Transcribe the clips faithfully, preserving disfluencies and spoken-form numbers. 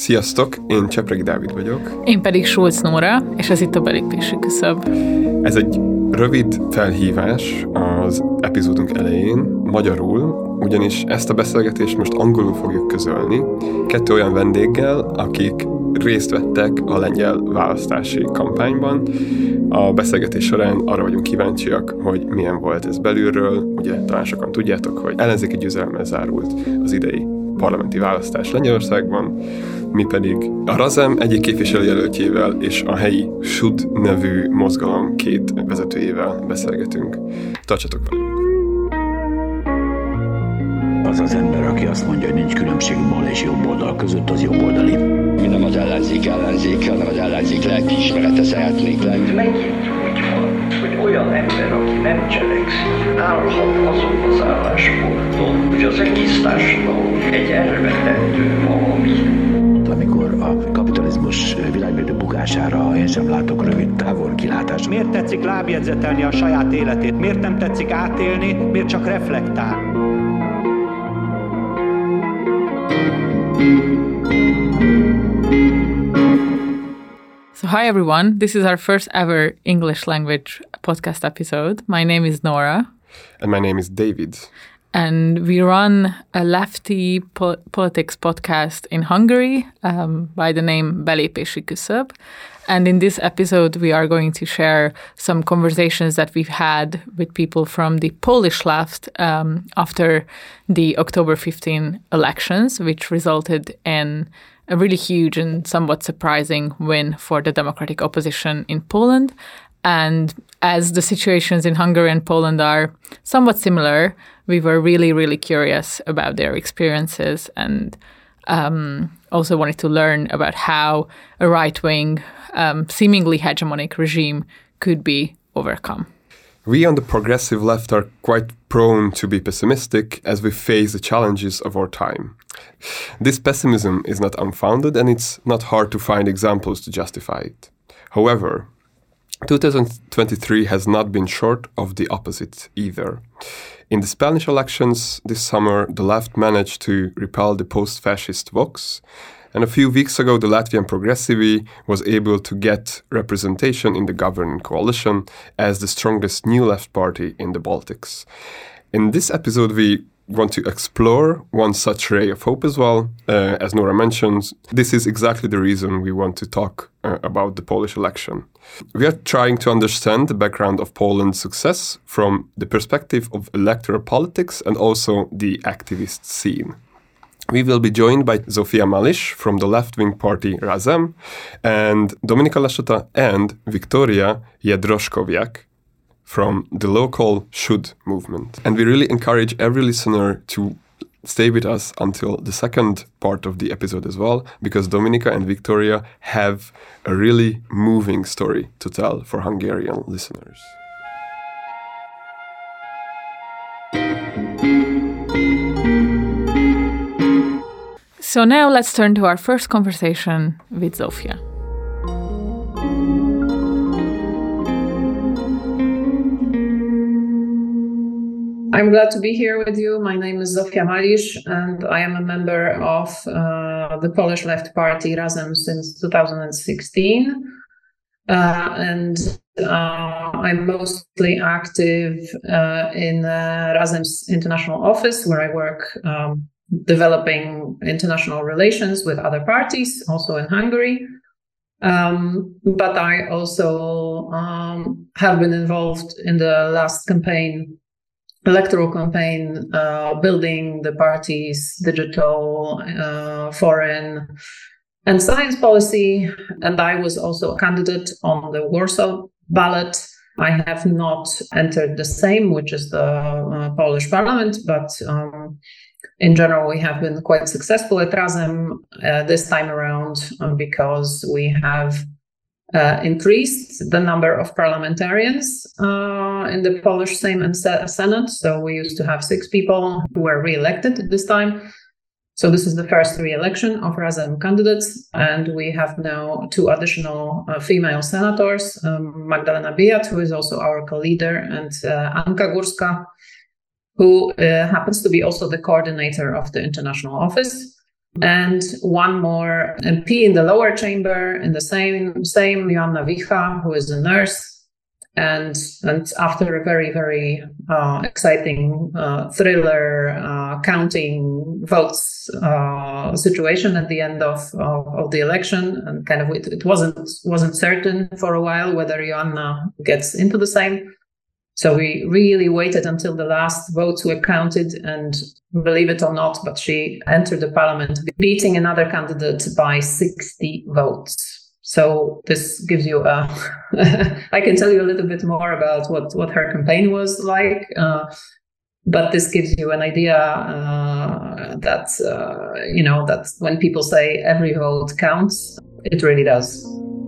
Sziasztok, én Csepregi Dávid vagyok. Én pedig Schulz Nóra, és ez itt a Belépési Küszöb. Ez egy rövid felhívás az epizódunk elején, magyarul, ugyanis ezt a beszélgetést most angolul fogjuk közölni, kettő olyan vendéggel, akik részt vettek a lengyel választási kampányban. A beszélgetés során arra vagyunk kíváncsiak, hogy milyen volt ez belülről. Ugye talán sokan tudjátok, hogy ellenzéki győzelemmel zárult az idei parlamenti választás Lengyelországban, mi pedig a Razem egyik képviselőjelöltjével és a helyi Sud nevű mozgalom két vezetőjével beszélgetünk. Tartsatok velünk! Az az ember, aki azt mondja, hogy nincs különbség bal és jobb oldal között, az jobb oldali. Mi nem az ellenzék ellenzék, hanem az ellenzék lelkiismerete szeretnék lenni. Megint úgy van, hogy olyan ember, aki nem cselekszik, állhat azon az állásponton, hogy az egész társadalom egy elvetendő valami. Amikor a kapitalizmus világbérdő bukására én sem látok rövid távol kilátást. Miért tetszik lábjegyzetelni a saját életét? Miért nem tetszik átélni? Miért csak reflektál? So hi everyone, this is our first ever English language podcast episode. My name is Nora. And my name is David. And we run a lefty po- politics podcast in Hungary um, by the name Belépési Küszöb. And in this episode, we are going to share some conversations that we've had with people from the Polish left um, after the October fifteenth elections, which resulted in a really huge and somewhat surprising win for the democratic opposition in Poland. And as the situations in Hungary and Poland are somewhat similar, we were really, really curious about their experiences and um, also wanted to learn about how a right-wing, um, seemingly hegemonic regime could be overcome. We on the progressive left are quite prone to be pessimistic as we face the challenges of our time. This pessimism is not unfounded, and it's not hard to find examples to justify it. However, two thousand twenty-three has not been short of the opposite either. In the Spanish elections this summer, the left managed to repel the post-fascist Vox, and a few weeks ago the Latvian Progressivi was able to get representation in the governing coalition as the strongest new left party in the Baltics. In this episode we want to explore one such ray of hope as well. Uh, as Nora mentioned, this is exactly the reason we want to talk uh, about the Polish election. We are trying to understand the background of Poland's success from the perspective of electoral politics and also the activist scene. We will be joined by Zofia Malish from the left-wing party Razem and Dominika Lassota and Victoria Jedroszkowiak from the local Sud movement. And we really encourage every listener to stay with us until the second part of the episode as well, because Dominika and Victoria have a really moving story to tell for Hungarian listeners. So now let's turn to our first conversation with Zofia. I'm glad to be here with you. My name is Zofia Malisz, and I am a member of uh, the Polish Left Party Razem since two thousand sixteen. Uh, and uh, I'm mostly active uh, in uh, Razem's international office, where I work um, developing international relations with other parties, also in Hungary. Um, but I also um, have been involved in the last campaign electoral campaign, uh, building the party's digital, uh, foreign, and science policy. And I was also a candidate on the Warsaw ballot. I have not entered the Sejm, which is the uh, Polish parliament, but um, in general, we have been quite successful at Razem uh, this time around um, because we have Uh, increased the number of parliamentarians uh, in the Polish Sejm and Senate. So we used to have six people who were re-elected this time. So this is the first re-election of Razem candidates. And we have now two additional uh, female senators, um, Magdalena Biejat, who is also our co-leader, and uh, Anka Górska, who uh, happens to be also the coordinator of the international office. and one more M P in the lower chamber, in the same, same Joanna Wicha, who is a nurse. And, and after a very, very uh, exciting uh, thriller uh, counting votes uh, situation at the end of, of, of the election, and kind of it, it wasn't wasn't certain for a while whether Joanna gets into the Sejm. So we really waited until the last votes were counted, and believe it or not, but she entered the parliament, beating another candidate by sixty votes. So this gives you a, I can tell you a little bit more about what, what her campaign was like, uh, but this gives you an idea uh, that, uh, you know, that when people say every vote counts, it really does.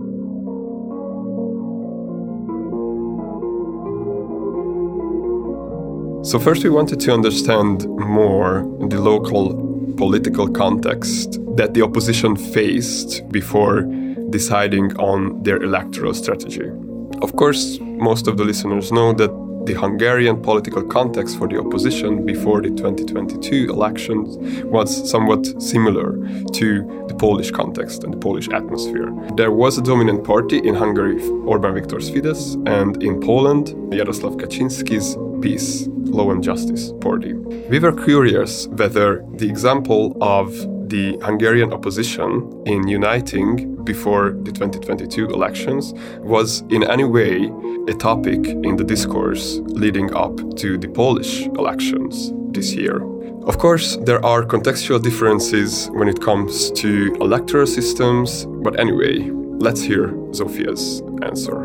So first we wanted to understand more the local political context that the opposition faced before deciding on their electoral strategy. Of course, most of the listeners know that the Hungarian political context for the opposition before the twenty twenty-two elections was somewhat similar to the Polish context and the Polish atmosphere. There was a dominant party in Hungary, Orbán Viktor's Fidesz, and in Poland, Jarosław Kaczynski's PiS, Law and Justice Party. We were curious whether the example of the Hungarian opposition in uniting before the twenty twenty-two elections was in any way a topic in the discourse leading up to the Polish elections this year. Of course, there are contextual differences when it comes to electoral systems, but anyway, let's hear Zofia's answer.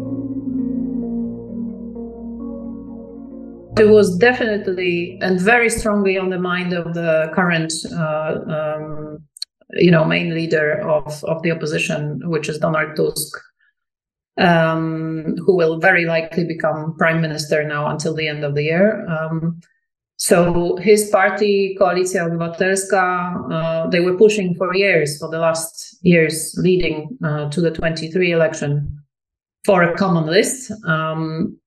It was definitely and very strongly on the mind of the current, uh, um, you know, main leader of, of the opposition, which is Donald Tusk, um, who will very likely become prime minister now until the end of the year. Um, so his party, Koalicja Obywatelska, uh, they were pushing for years, for the last years leading uh, to the twenty-three election, for a common list. Um,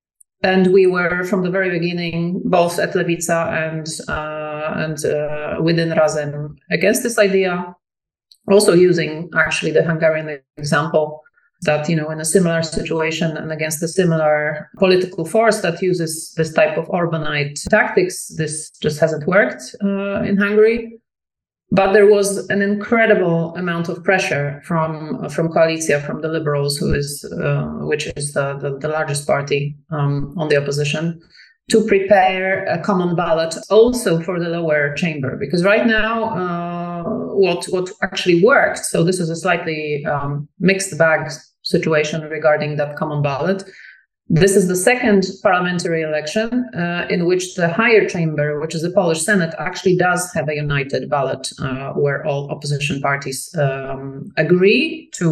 And we were from the very beginning, both at Lewica and uh, and uh, within Razem, against this idea. Also using actually the Hungarian example that, you know, in a similar situation and against a similar political force that uses this type of Orbanite tactics, this just hasn't worked uh, in Hungary. But there was an incredible amount of pressure from from Koalicja, from the Liberals, who is uh, which is the, the, the largest party um, on the opposition, to prepare a common ballot also for the lower chamber. Because right now, uh, what what actually worked, so this is a slightly um, mixed bag situation regarding that common ballot. This is the second parliamentary election uh, in which the higher chamber, which is the Polish Senate, actually does have a united ballot uh, where all opposition parties um, agree to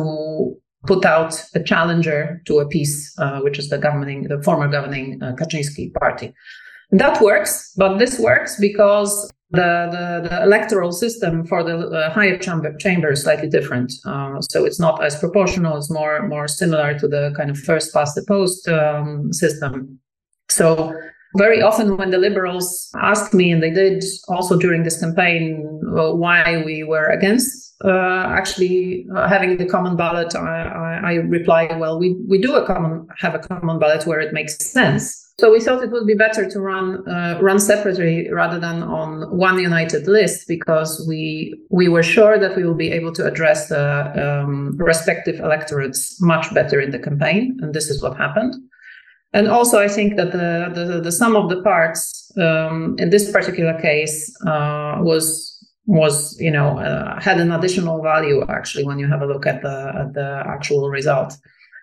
put out a challenger to a PiS, uh, which is the governing, the former governing uh, Kaczynski party. And that works, but this works because the, the, the electoral system for the uh, higher chamber, chamber is slightly different. Uh, so it's not as proportional, it's more, more similar to the kind of first past the post um, system. So very often when the Liberals asked me, and they did also during this campaign, well, why we were against uh, actually uh, having the common ballot, I, I, I reply, well, we, we do a common, have a common ballot where it makes sense. So we thought it would be better to run uh, run separately rather than on one united list, because we we were sure that we will be able to address the um, respective electorates much better in the campaign, and this is what happened. And also, I think that the the, the sum of the parts um, in this particular case uh, was was you know uh, had an additional value actually when you have a look at the at the actual result.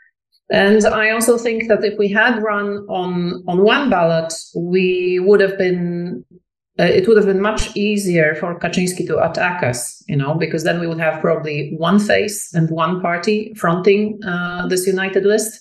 And I also think that if we had run on, on one ballot, we would have been, uh, it would have been much easier for Kaczynski to attack us, you know, because then we would have probably one face and one party fronting uh, this united list.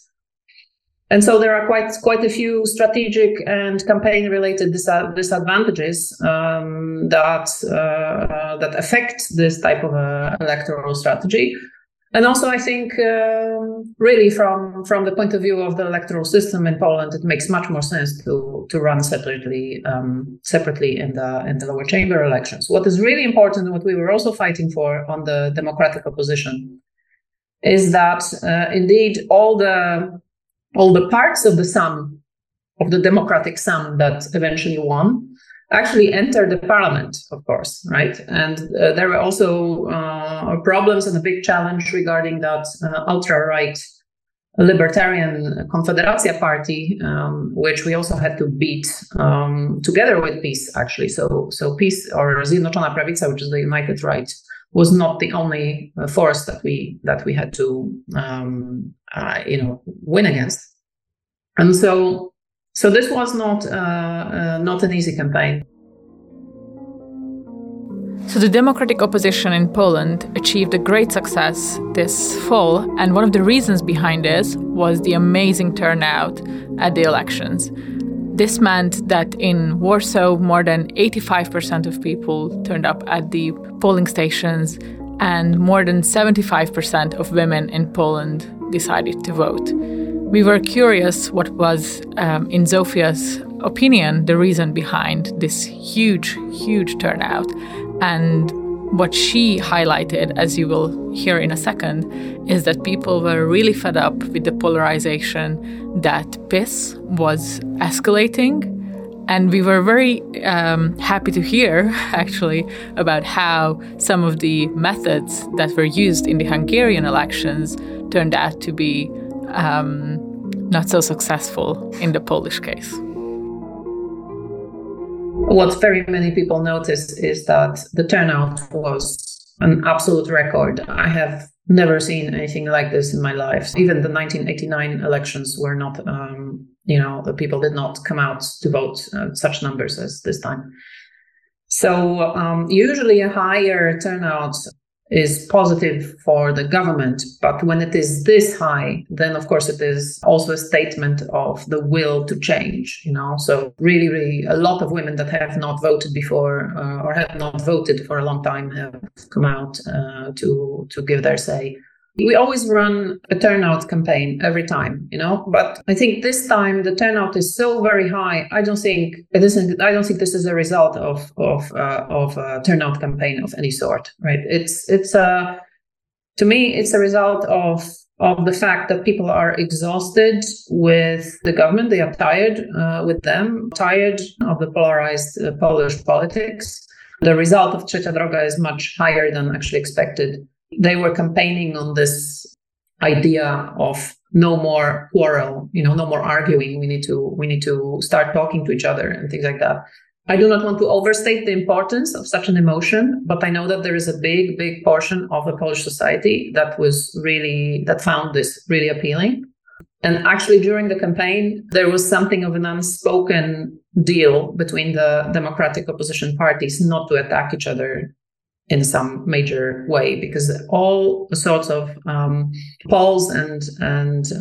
And so there are quite quite a few strategic and campaign-related dis- disadvantages um, that uh, that affect this type of uh, electoral strategy. And also, I think, um, really, from, from the point of view of the electoral system in Poland, it makes much more sense to to run separately, um, separately in the in the lower chamber elections. What is really important, and what we were also fighting for on the democratic opposition, is that uh, indeed all the all the parts of the sum of the democratic sum that eventually won actually entered the parliament, of course, right? And uh, there were also uh, problems and a big challenge regarding that uh, ultra-right libertarian Konfederacja party, um, which we also had to beat um, together with PiS, actually. So, so PiS, or Zjednoczona Prawica, which is the United Right, was not the only uh, force that we that we had to, um, uh, you know, win against. And so. So this was not uh, uh, not an easy campaign. So the democratic opposition in Poland achieved a great success this fall, and one of the reasons behind this was the amazing turnout at the elections. This meant that in Warsaw, more than eighty-five percent of people turned up at the polling stations, and more than seventy-five percent of women in Poland decided to vote. We were curious what was, um, in Zofia's opinion, the reason behind this huge, huge turnout. And what she highlighted, as you will hear in a second, is that people were really fed up with the polarization, that PiS was escalating. And we were very um, happy to hear, actually, about how some of the methods that were used in the Hungarian elections turned out to be Um, not so successful in the Polish case. What very many people noticed is that the turnout was an absolute record. I have never seen anything like this in my life. Even the nineteen eighty-nine elections were not, um, you know, the people did not come out to vote uh, such numbers as this time. So um, usually a higher turnout is positive for the government. But when it is this high, then of course it is also a statement of the will to change, you know. So really, really a lot of women that have not voted before uh, or have not voted for a long time have come out uh, to, to give their say. We always run a turnout campaign every time, you know, but I think this time the turnout is so very high. I don't think it isn't. I don't think this is a result of of uh, of a turnout campaign of any sort, right? It's it's a to me it's a result of of the fact that people are exhausted with the government. They are tired uh, with them, tired of the polarized uh, Polish politics. The result of Trzecia Droga is much higher than actually expected. They were campaigning on this idea of no more quarrel, you know, no more arguing. We need to we need to start talking to each other and things like that. I do not want to overstate the importance of such an emotion, but I know that there is a big, big portion of the Polish society that was really that found this really appealing. And actually, during the campaign, there was something of an unspoken deal between the democratic opposition parties not to attack each other in some major way, because all sorts of um, polls and and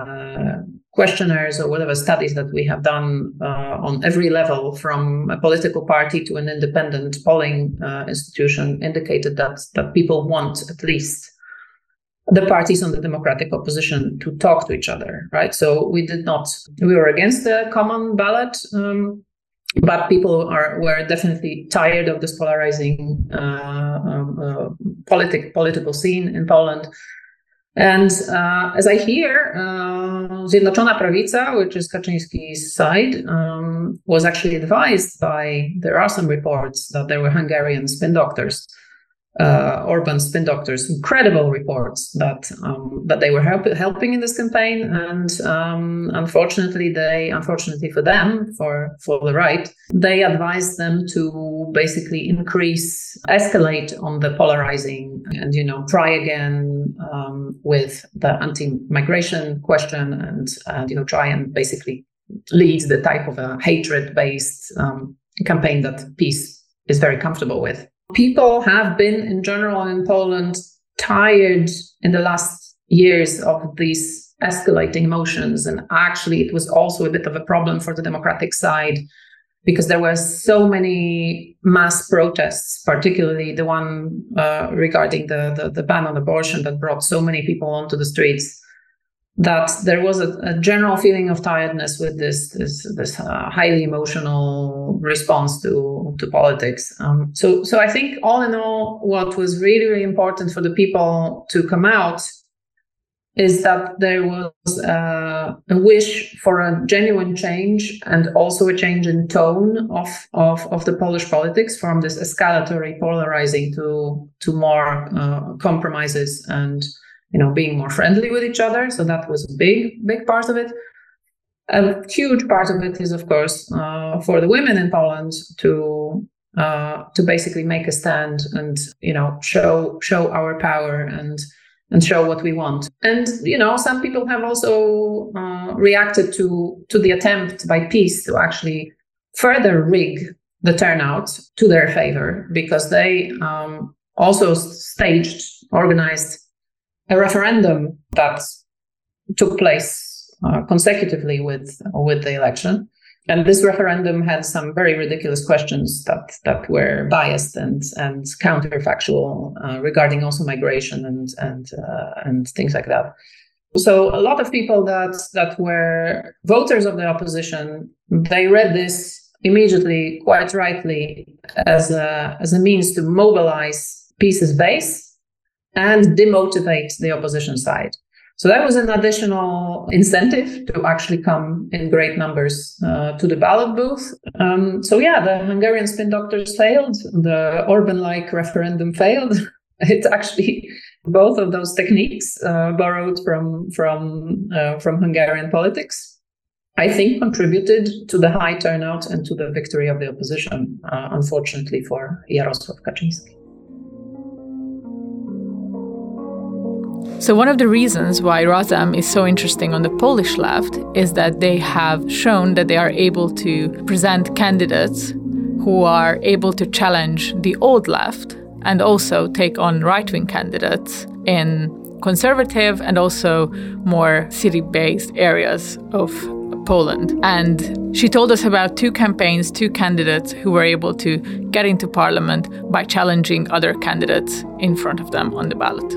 uh, questionnaires or whatever studies that we have done uh, on every level, from a political party to an independent polling uh, institution, indicated that that people want at least the parties on the democratic opposition to talk to each other, right? So we did not, we were against the common ballot, um, but people are were definitely tired of this polarizing uh, um, uh, politic, political scene in Poland. And uh, as I hear, uh, Zjednoczona Prawica, which is Kaczyński's side, um, was actually advised by, there are some reports that there were Hungarian spin doctors, uh, Orban spin doctors, incredible reports that um, that they were help, helping in this campaign. And um, unfortunately, they, unfortunately for them, for, for the right, they advised them to basically increase, escalate on the polarizing and, you know, try again um, with the anti-migration question and, and, you know, try and basically lead the type of a hatred-based um, campaign that PiS is very comfortable with. People have been, in general in Poland, tired in the last years of these escalating emotions. And actually, it was also a bit of a problem for the democratic side because there were so many mass protests, particularly the one uh, regarding the, the, the ban on abortion that brought so many people onto the streets, that there was a, a general feeling of tiredness with this this, this uh, highly emotional response to, to politics. Um, so, so I think all in all, what was really, really important for the people to come out is that there was uh, a wish for a genuine change, and also a change in tone of, of, of the Polish politics, from this escalatory, polarizing to to more uh, compromises and, you know, being more friendly with each other. So that was a big, big part of it. A huge part of it is, of course, uh, for the women in Poland to uh, to basically make a stand and, you know, show show our power and. and show what we want. And, you know, some people have also uh, reacted to, to the attempt by PiS to actually further rig the turnout to their favor, because they um, also staged, organized a referendum that took place uh, consecutively with, with the election. And this referendum had some very ridiculous questions that, that were biased and and counterfactual uh, regarding also migration and and uh, and things like that. So a lot of people that that were voters of the opposition, they read this immediately, quite rightly, as a as a means to mobilize PiS's base and demotivate the opposition side. So that was an additional incentive to actually come in great numbers uh, to the ballot booth. Um, so yeah, the Hungarian spin doctors failed. The Orban-like referendum failed. It actually, both of those techniques uh, borrowed from from uh, from Hungarian politics, I think, contributed to the high turnout and to the victory of the opposition, uh, unfortunately for Jarosław Kaczyński. So one of the reasons why Razem is so interesting on the Polish left is that they have shown that they are able to present candidates who are able to challenge the old left and also take on right-wing candidates in conservative and also more city-based areas of Poland. And she told us about two campaigns, two candidates who were able to get into parliament by challenging other candidates in front of them on the ballot.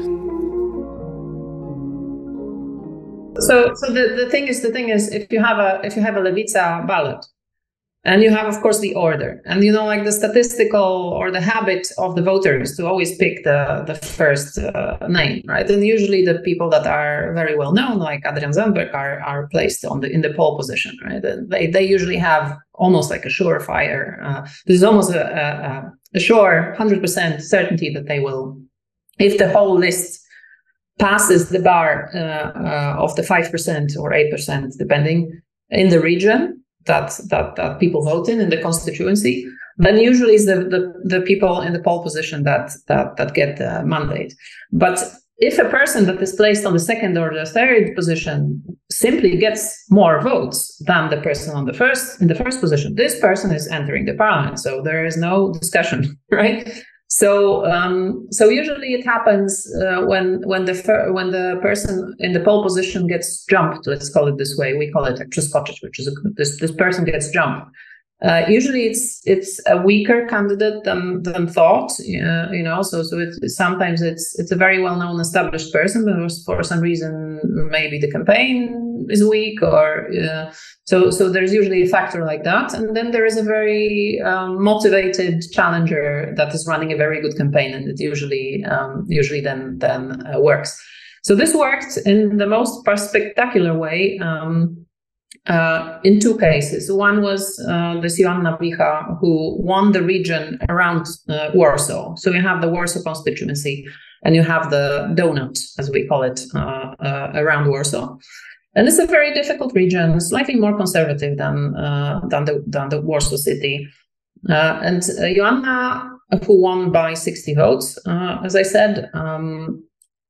So, so the, the thing is, the thing is, if you have a if you have a Lewica ballot, and you have, of course, the order, and you know, like the statistical or the habit of the voters to always pick the the first uh, name, right? And usually the people that are very well known, like Adrian Zandberg, are are placed on the in the pole position, right? And they they usually have almost like a surefire. Uh, there's almost a a, a sure one hundred percent certainty that they will, if the whole list passes the bar uh, uh, of the five percent or eight percent, depending, in the region that, that that people vote in, in the constituency, then usually it's the, the, the people in the pole position that, that, that get the mandate. But if a person that is placed on the second or the third position simply gets more votes than the person on the first in the first position, this person is entering the parliament. So there is no discussion, right? So, um, so usually it happens uh, when when the fir- when the person in the pole position gets jumped. Let's call it this way. We call it przeskoczyć, which is a, this this person gets jumped. Uh, usually, it's it's a weaker candidate than than thought. Uh, you know, so so it's sometimes it's it's a very well known established person, but for some reason maybe the campaign is weak, or uh, so so there's usually a factor like that. And then there is a very um, motivated challenger that is running a very good campaign, and it usually um, usually then then uh, works. So this worked in the most spectacular way. Um, Uh, in two cases. One was uh, this Joanna Wicha, who won the region around uh, Warsaw. So you have the Warsaw constituency, and you have the donut, as we call it, uh, uh, around Warsaw. And it's a very difficult region, slightly more conservative than uh, than the than the Warsaw city. Uh, and uh, Joanna, who won by sixty votes, uh, as I said, um,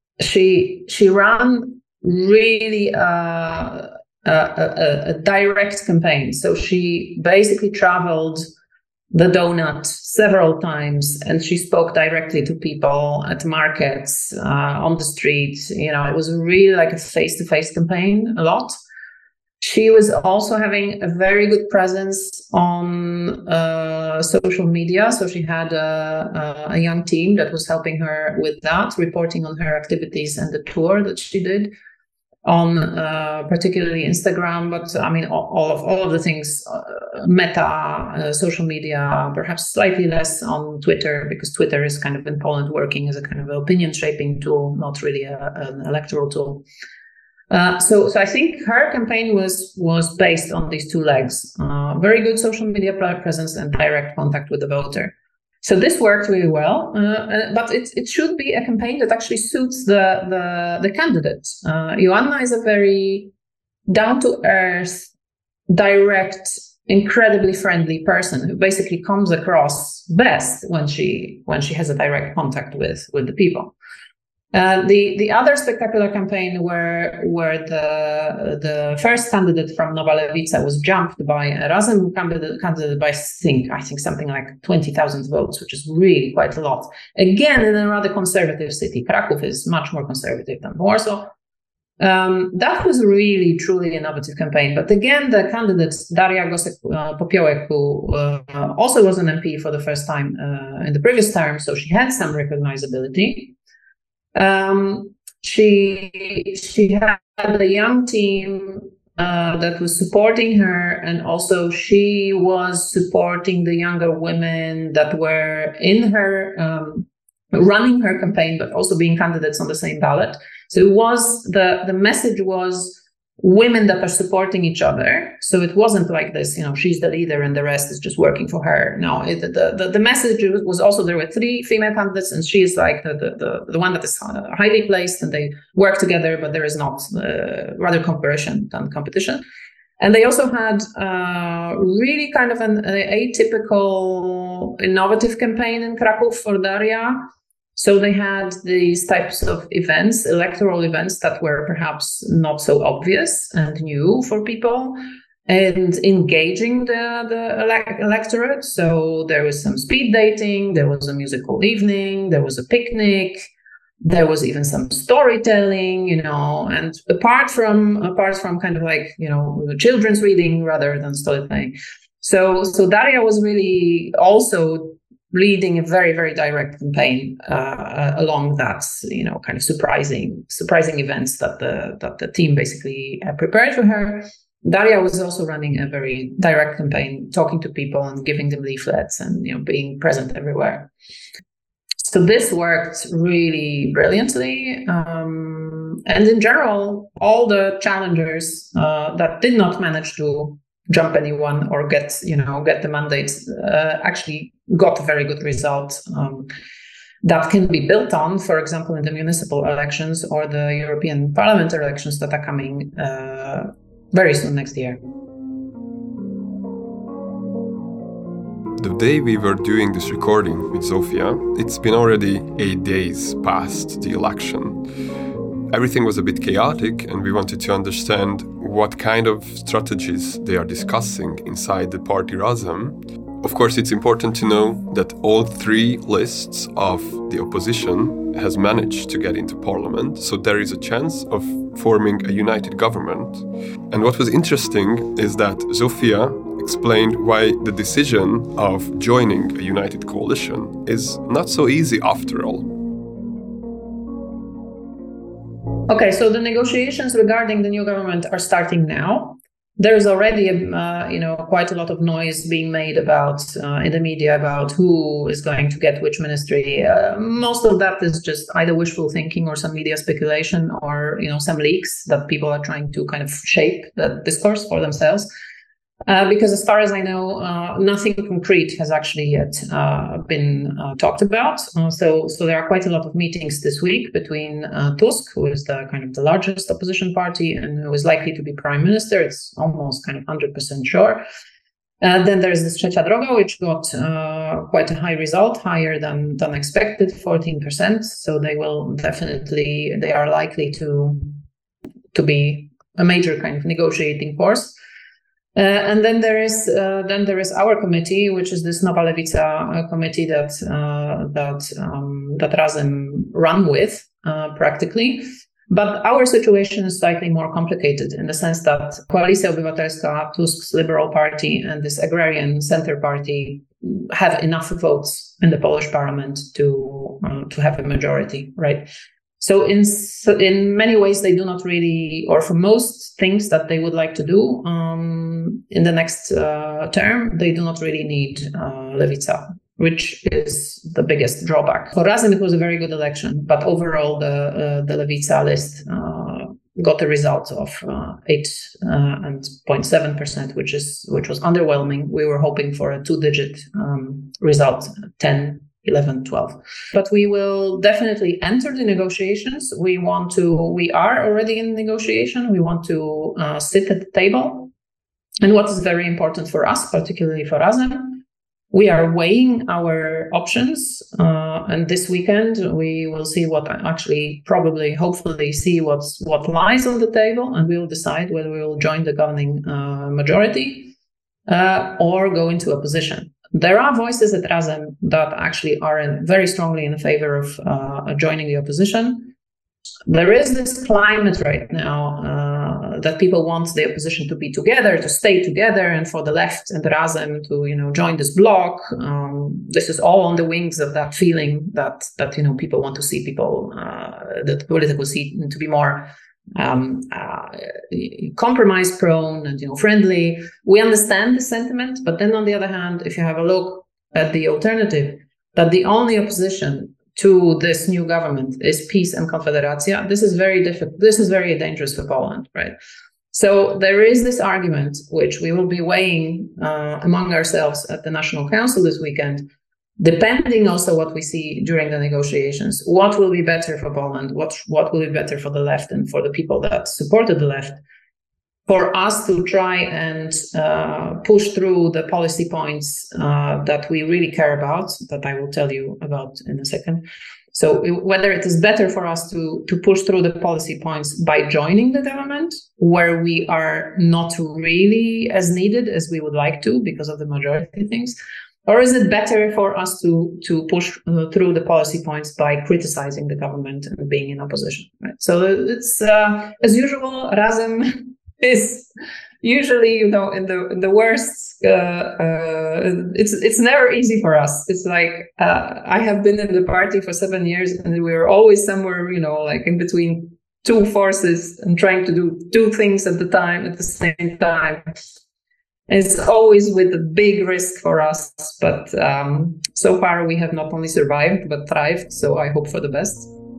she she ran really. Uh, Uh, a, a direct campaign. So she basically traveled the donut several times, and she spoke directly to people at markets, uh, on the street. You know, it was really like a face-to-face campaign a lot. She was also having a very good presence on uh, social media. So she had a, a young team that was helping her with that, reporting on her activities and the tour that she did on uh, particularly Instagram. But I mean, all, all of all of the things, uh, Meta, uh, social media, perhaps slightly less on Twitter, because Twitter is kind of in Poland working as a kind of opinion shaping tool, not really a, an electoral tool. Uh, so, so I think her campaign was was based on these two legs: uh, very good social media presence and direct contact with the voter. So this worked really well, uh, but it it should be a campaign that actually suits the the, the candidate. Uh, Joanna is a very down to earth, direct, incredibly friendly person who basically comes across best when she when she has a direct contact with with the people. Uh, the the other spectacular campaign where where the the first candidate from Nowa Lewica was jumped by a Razem candidate, candidate by I think I think something like twenty thousand votes, which is really quite a lot. Again, in a rather conservative city, Kraków is much more conservative than Warsaw. Um, that was really truly innovative campaign. But again, the candidate Daria Gosek-Popiołek, who uh, also was an M P for the first time uh, in the previous term, so she had some recognizability. Um, she she had a young team uh, that was supporting her, and also she was supporting the younger women that were in her um, running her campaign, but also being candidates on the same ballot. So it was the the message was women that are supporting each other. So it wasn't like this, you know, she's the leader and the rest is just working for her. No, it, the, the the message was also there were three female candidates, and she is like the the the, the one that is highly placed, and they work together, but there is not uh, rather cooperation than competition. And they also had uh, really kind of an, an atypical, innovative campaign in Kraków for Daria. So they had these types of events, electoral events that were perhaps not so obvious and new for people, and engaging the, the elect- electorate. So there was some speed dating, there was a musical evening, there was a picnic, there was even some storytelling, you know, and apart from apart from kind of like, you know, children's reading rather than storytelling. So so Daria was really also leading a very, very direct campaign uh, along that, you know, kind of surprising, surprising events that the that the team basically uh, prepared for her. Daria was also running a very direct campaign, talking to people and giving them leaflets and, you know, being present everywhere. So this worked really brilliantly. Um, and in general, all the challengers uh, that did not manage to jump anyone or get, you know, get the mandates uh, actually got a very good result um, that can be built on, for example, in the municipal elections or the European Parliament elections that are coming uh, very soon next year. The day we were doing this recording with Zofia, it's been already eight days past the election. Everything was a bit chaotic, and we wanted to understand what kind of strategies they are discussing inside the party Razem. Of course, it's important to know that all three lists of the opposition has managed to get into parliament, so there is a chance of forming a united government. And what was interesting is that Zofia explained why the decision of joining a united coalition is not so easy after all. Okay, so the negotiations regarding the new government are starting now. There is already, uh, you know, quite a lot of noise being made about uh, in the media about who is going to get which ministry. Uh, most of that is just either wishful thinking or some media speculation, or, you know, some leaks that people are trying to kind of shape the discourse for themselves. Uh, because as far as I know, uh, nothing concrete has actually yet uh, been uh, talked about. Uh, so, so there are quite a lot of meetings this week between uh, Tusk, who is the kind of the largest opposition party and who is likely to be prime minister. It's almost kind of one hundred percent sure. Uh, then there is this Trzecia Droga, which got uh, quite a high result, higher than than expected, fourteen percent. So they will definitely, they are likely to to be a major kind of negotiating force. Uh, and then there is uh, then there is our committee, which is this Nowa Lewica uh, committee that uh, that um, that Razem run with uh, practically. But our situation is slightly more complicated in the sense that Koalicja Obywatelska, Tusk's Liberal Party, and this agrarian center party have enough votes in the Polish parliament to uh, to have a majority, right? So in in many ways, they do not really, or for most things that they would like to do um, in the next uh, term, they do not really need uh, Lewica, which is the biggest drawback. For Razem, it was a very good election, but overall, the uh, the Lewica list uh, got a result of uh, eight uh, and zero point seven percent, which is which was underwhelming. We were hoping for a two-digit um, result, ten, eleven, twelve. But we will definitely enter the negotiations. We want to. We are already in negotiation. We want to uh, sit at the table. And what is very important for us, particularly for Razem, we are weighing our options, uh, and this weekend we will see what actually, probably, hopefully, see what's what lies on the table, and we will decide whether we will join the governing uh, majority uh, or go into opposition. There are voices at Razem that actually are in, very strongly in favor of uh, joining the opposition. There is this climate right now uh, that people want the opposition to be together, to stay together, and for the left and the Razem to, you know, join this bloc. Um, this is all on the wings of that feeling that that you know people want to see people, uh, the political scene to be more um, uh, compromise prone and you know friendly. We understand the sentiment, but then on the other hand, if you have a look at the alternative, that the only opposition to this new government is PiS and Konfederacja, this is very difficult. This is very dangerous for Poland, right? So there is this argument, which we will be weighing uh, among ourselves at the National Council this weekend, depending also what we see during the negotiations. What will be better for Poland? What, what will be better for the left and for the people that supported the left? For us to try and uh, push through the policy points uh, that we really care about, that I will tell you about in a second. So whether it is better for us to, to push through the policy points by joining the government, where we are not really as needed as we would like to because of the majority things, or is it better for us to, to push uh, through the policy points by criticizing the government and being in opposition? Right? So it's, uh, as usual, Razem is usually, you know, in the in the worst. Uh, uh, it's it's never easy for us. It's like uh, I have been in the party for seven years, and we were always somewhere, you know, like in between two forces and trying to do two things at the time at the same time. It's always with a big risk for us, but um, so far we have not only survived but thrived. So I hope for the best.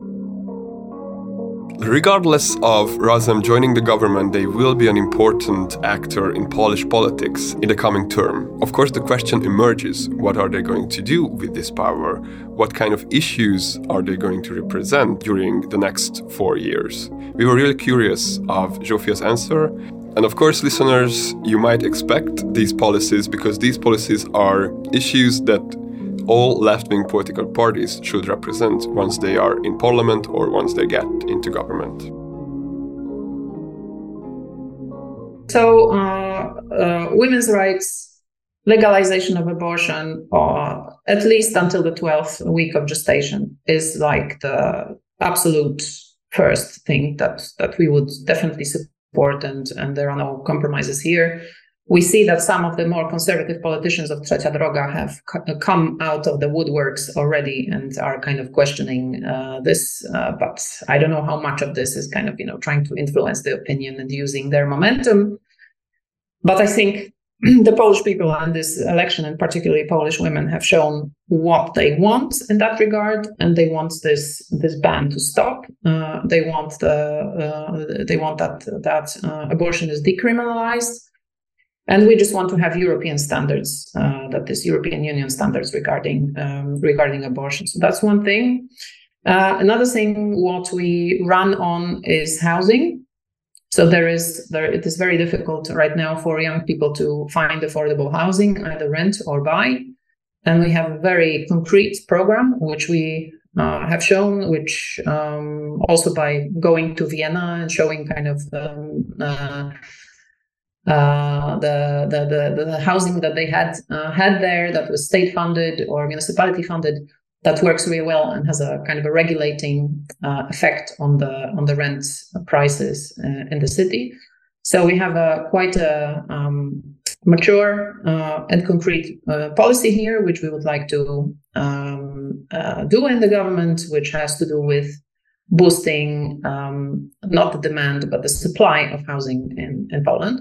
Regardless of Razem joining the government, they will be an important actor in Polish politics in the coming term. Of course, the question emerges, what are they going to do with this power? What kind of issues are they going to represent during the next four years? We were really curious of Zsófia's answer. And of course, listeners, you might expect these policies because these policies are issues that all left-wing political parties should represent once they are in parliament or once they get into government. So, uh, uh, women's rights, legalization of abortion, or at least until the twelfth week of gestation, is like the absolute first thing that, that we would definitely support, and, and there are no compromises here. We see that some of the more conservative politicians of Trzecia Droga have c- come out of the woodworks already and are kind of questioning uh, this. Uh, but I don't know how much of this is kind of, you know, trying to influence the opinion and using their momentum. But I think the Polish people and this election, and particularly Polish women, have shown what they want in that regard, and they want this this ban to stop. Uh, they want the uh, they want that that uh, abortion is decriminalized. And we just want to have European standards, uh, that is European Union standards regarding um, regarding abortion. So that's one thing. Uh, another thing, what we run on is housing. So there is there it is very difficult right now for young people to find affordable housing, either rent or buy. And we have a very concrete program which we uh, have shown, which um, also by going to Vienna and showing kind of um, uh, Uh, the, the the the housing that they had uh, had there that was state funded or municipality funded, that works really well and has a kind of a regulating uh, effect on the on the rent prices uh, in the city. So we have a quite a um, mature uh, and concrete uh, policy here, which we would like to um, uh, do in the government, which has to do with boosting um, not the demand but the supply of housing in, in Poland.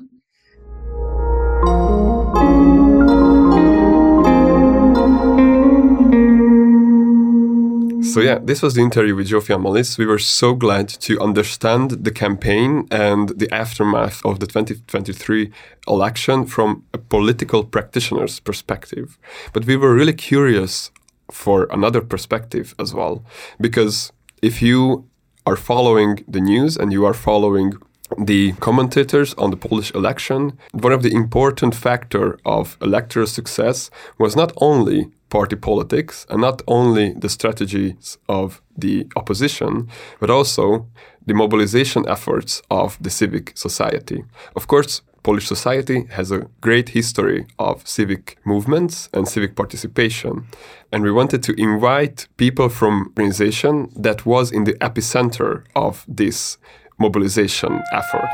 So yeah, this was the interview with Zsófia Molisz. We were so glad to understand the campaign and the aftermath of the twenty twenty-three election from a political practitioner's perspective. But we were really curious for another perspective as well, because if you are following the news and you are following the commentators on the Polish election, one of the important factors of electoral success was not only party politics and not only the strategies of the opposition, but also the mobilization efforts of the civic society. Of course, Polish society has a great history of civic movements and civic participation. And we wanted to invite people from organization that was in the epicenter of this mobilization effort.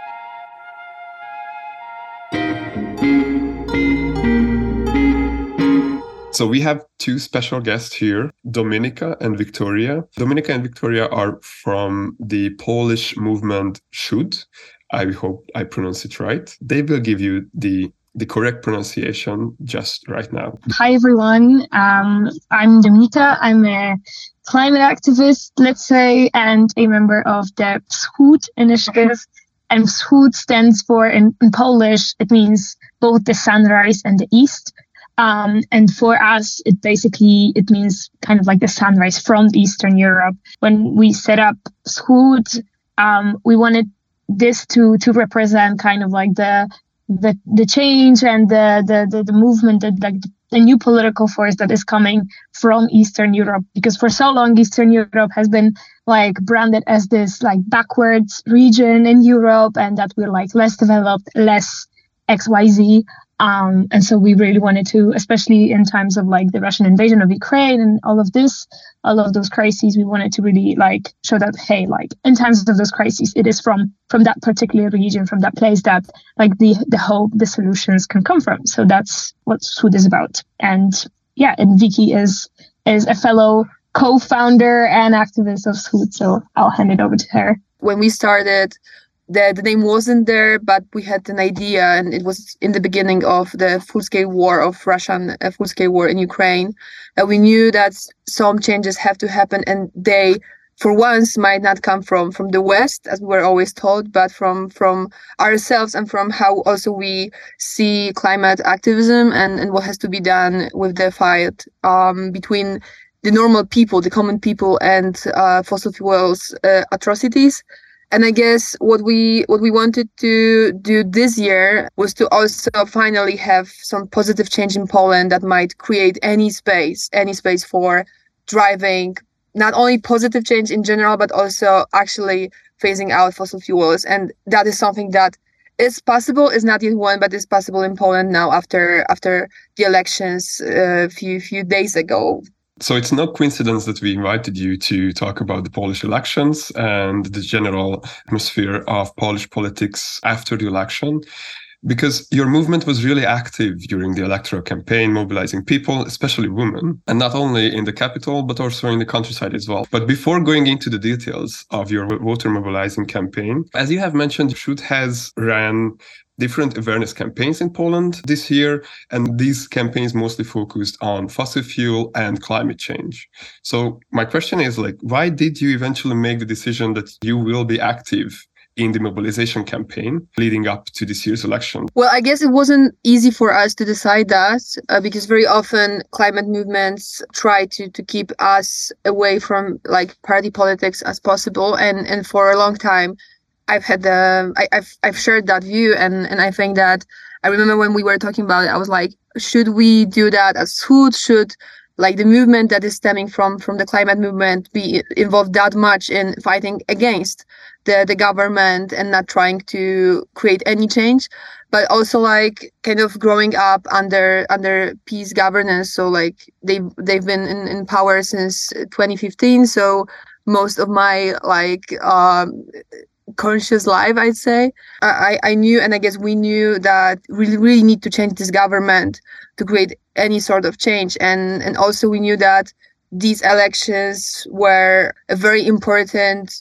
So we have two special guests here, Dominika and Victoria. Dominika and Victoria are from the Polish movement Przód. I hope I pronounce it right. They will give you the the correct pronunciation just right now. Hi, everyone. Um, I'm Dominika. I'm a climate activist, let's say, and a member of the Wschód initiative. And Wschód stands for, in, in Polish, it means both the sunrise and the east. Um, and for us, it basically, it means kind of like the sunrise from Eastern Europe. When we set up Wschód, um, we wanted this to to represent kind of like the the the change and the the the, the movement, that like the new political force that is coming from Eastern Europe, because for so long Eastern Europe has been like branded as this like backwards region in Europe, and that we're like less developed, less X Y Z. Um, and so we really wanted to, especially in times of like the Russian invasion of Ukraine and all of this, all of those crises, we wanted to really like show that, hey, like in times of those crises, it is from from that particular region, from that place that like the the hope, the solutions can come from. So that's what Wschód is about. And yeah, and Vicky is is a fellow co-founder and activist of Wschód. So I'll hand it over to her. When we started, The, the name wasn't there, but we had an idea, and it was in the beginning of the full-scale war of Russian uh, full-scale war in Ukraine. Uh, we knew that some changes have to happen, and they, for once, might not come from from the West, as we were always told, but from from ourselves and from how also we see climate activism and, and what has to be done with the fight um, between the normal people, the common people, and uh, fossil fuels uh, atrocities. And I guess what we what we wanted to do this year was to also finally have some positive change in Poland that might create any space, any space for driving not only positive change in general, but also actually phasing out fossil fuels. And that is something that is possible, is not yet won, but is possible in Poland now after after the elections a uh, few few days ago. So it's no coincidence that we invited you to talk about the Polish elections and the general atmosphere of Polish politics after the election, because your movement was really active during the electoral campaign, mobilizing people, especially women, and not only in the capital, but also in the countryside as well. But before going into the details of your voter mobilizing campaign, as you have mentioned, Przód has ran different awareness campaigns in Poland this year, and these campaigns mostly focused on fossil fuel and climate change. So my question is, like, why did you eventually make the decision that you will be active in the mobilization campaign leading up to this year's election? Well, I guess it wasn't easy for us to decide that uh, because very often climate movements try to to keep us away from like party politics as possible, and and for a long time I've had the I, I've I've shared that view, and and I think that I remember when we were talking about it, I was like, should we do that as Wschód? Should like the movement that is stemming from from the climate movement be involved that much in fighting against the the government and not trying to create any change? but also like kind of growing up under under PiS governance. So like they've they've been in, in power since twenty fifteen. So most of my like um, conscious life, I'd say, I I knew, and I guess we knew that we really, really need to change this government to create any sort of change, and and also we knew that these elections were a very important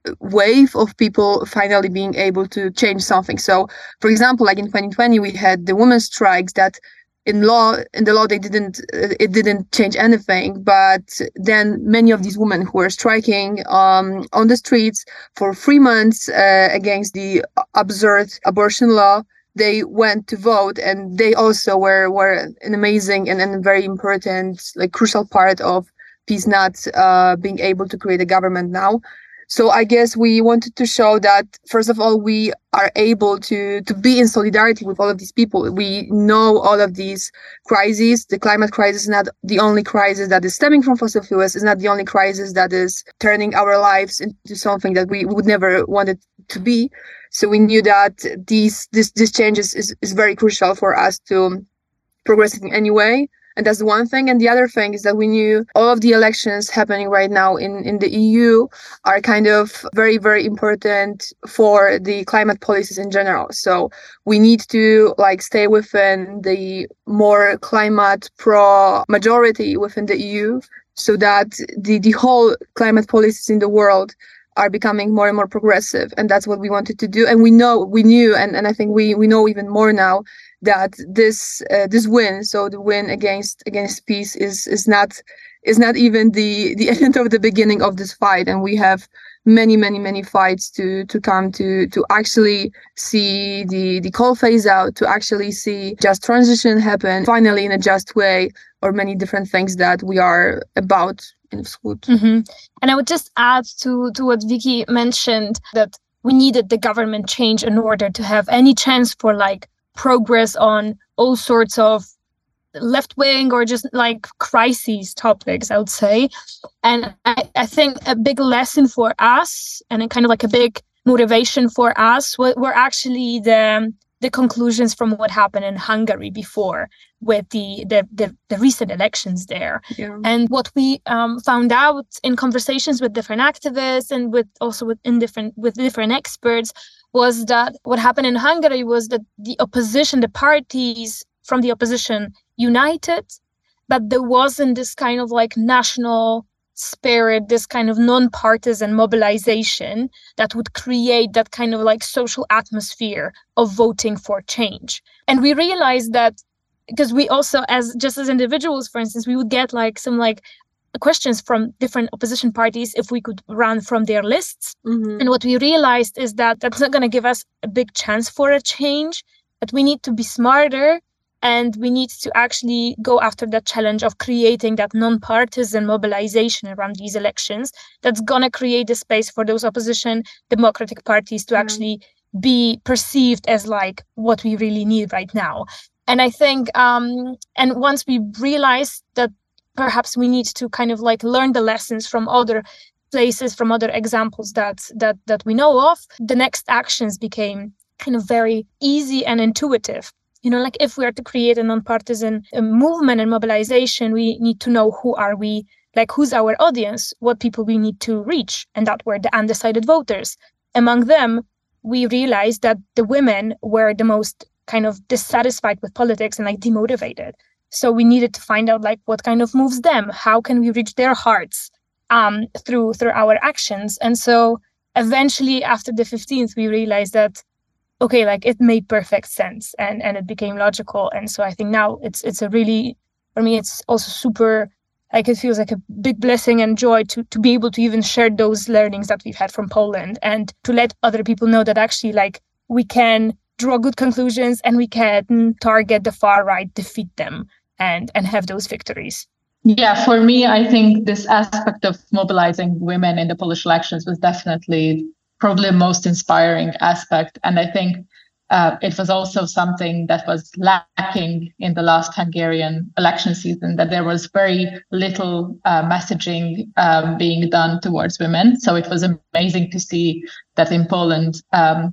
wave of people finally being able to change something. So, for example, like in twenty twenty, we had the women's strikes that in law, in the law, they didn't, it didn't change anything. But then many of these women who were striking um, on the streets for three months uh, against the absurd abortion law, they went to vote, and they also were were an amazing and, and a very important, like crucial part of PiS not uh, being able to create a government now. So I guess we wanted to show that, first of all, we are able to, to be in solidarity with all of these people. We know all of these crises. The climate crisis is not the only crisis that is stemming from fossil fuels. It's not the only crisis that is turning our lives into something that we would never want it to be. So we knew that these this this changes is, is very crucial for us to progress in any way. And that's the one thing. And the other thing is that we knew all of the elections happening right now in, in the E U are kind of very, very important for the climate policies in general. So we need to like stay within the more climate pro majority within the E U so that the, the whole climate policies in the world are becoming more and more progressive. And that's what we wanted to do. And we know, we knew, and, and I think we, we know even more now, that this uh, this win, so the win against against PiS, is is not is not even the the end of the beginning of this fight, and we have many many many fights to to come to to actually see the the coal phase out, to actually see just transition happen finally in a just way, or many different things that we are about in Wschód. Mm-hmm. And I would just add to to what Vicky mentioned, that we needed the government change in order to have any chance for like progress on all sorts of left-wing or just like crises topics, I would say. And I, I think a big lesson for us, and a kind of like a big motivation for us, were, were actually the the conclusions from what happened in Hungary before, with the the the, the recent elections there. Yeah. And what we um, found out in conversations with different activists and with also with in different with different experts was that what happened in Hungary was that the opposition, the parties from the opposition united, but there wasn't this kind of like national spirit, this kind of non-partisan mobilization that would create that kind of like social atmosphere of voting for change. And we realized that because we also, as just as individuals, for instance, we would get like some like questions from different opposition parties if we could run from their lists. Mm-hmm. And what we realized is that that's not going to give us a big chance for a change, but we need to be smarter, and we need to actually go after that challenge of creating that non-partisan mobilization around these elections that's going to create the space for those opposition democratic parties to mm-hmm. actually be perceived as like what we really need right now. And I think, um, and once we realized that perhaps we need to kind of like learn the lessons from other places, from other examples that that that we know of, the next actions became kind of very easy and intuitive. You know, like if we are to create a non-partisan uh, movement and mobilization, we need to know who are we, like who's our audience, what people we need to reach. And that were the undecided voters. Among them, we realized that the women were the most kind of dissatisfied with politics and like demotivated. So we needed to find out like what kind of moves them, how can we reach their hearts um, through through our actions. And so eventually after the fifteenth, we realized that, okay, like it made perfect sense and, and it became logical. And so I think now it's it's a really, for me, it's also super, like it feels like a big blessing and joy to, to be able to even share those learnings that we've had from Poland and to let other people know that actually like we can draw good conclusions and we can target the far right, defeat them and, and have those victories. Yeah, for me, I think this aspect of mobilizing women in the Polish elections was definitely probably the most inspiring aspect. And I think uh, it was also something that was lacking in the last Hungarian election season, that there was very little uh, messaging um, being done towards women. So it was amazing to see that in Poland, um,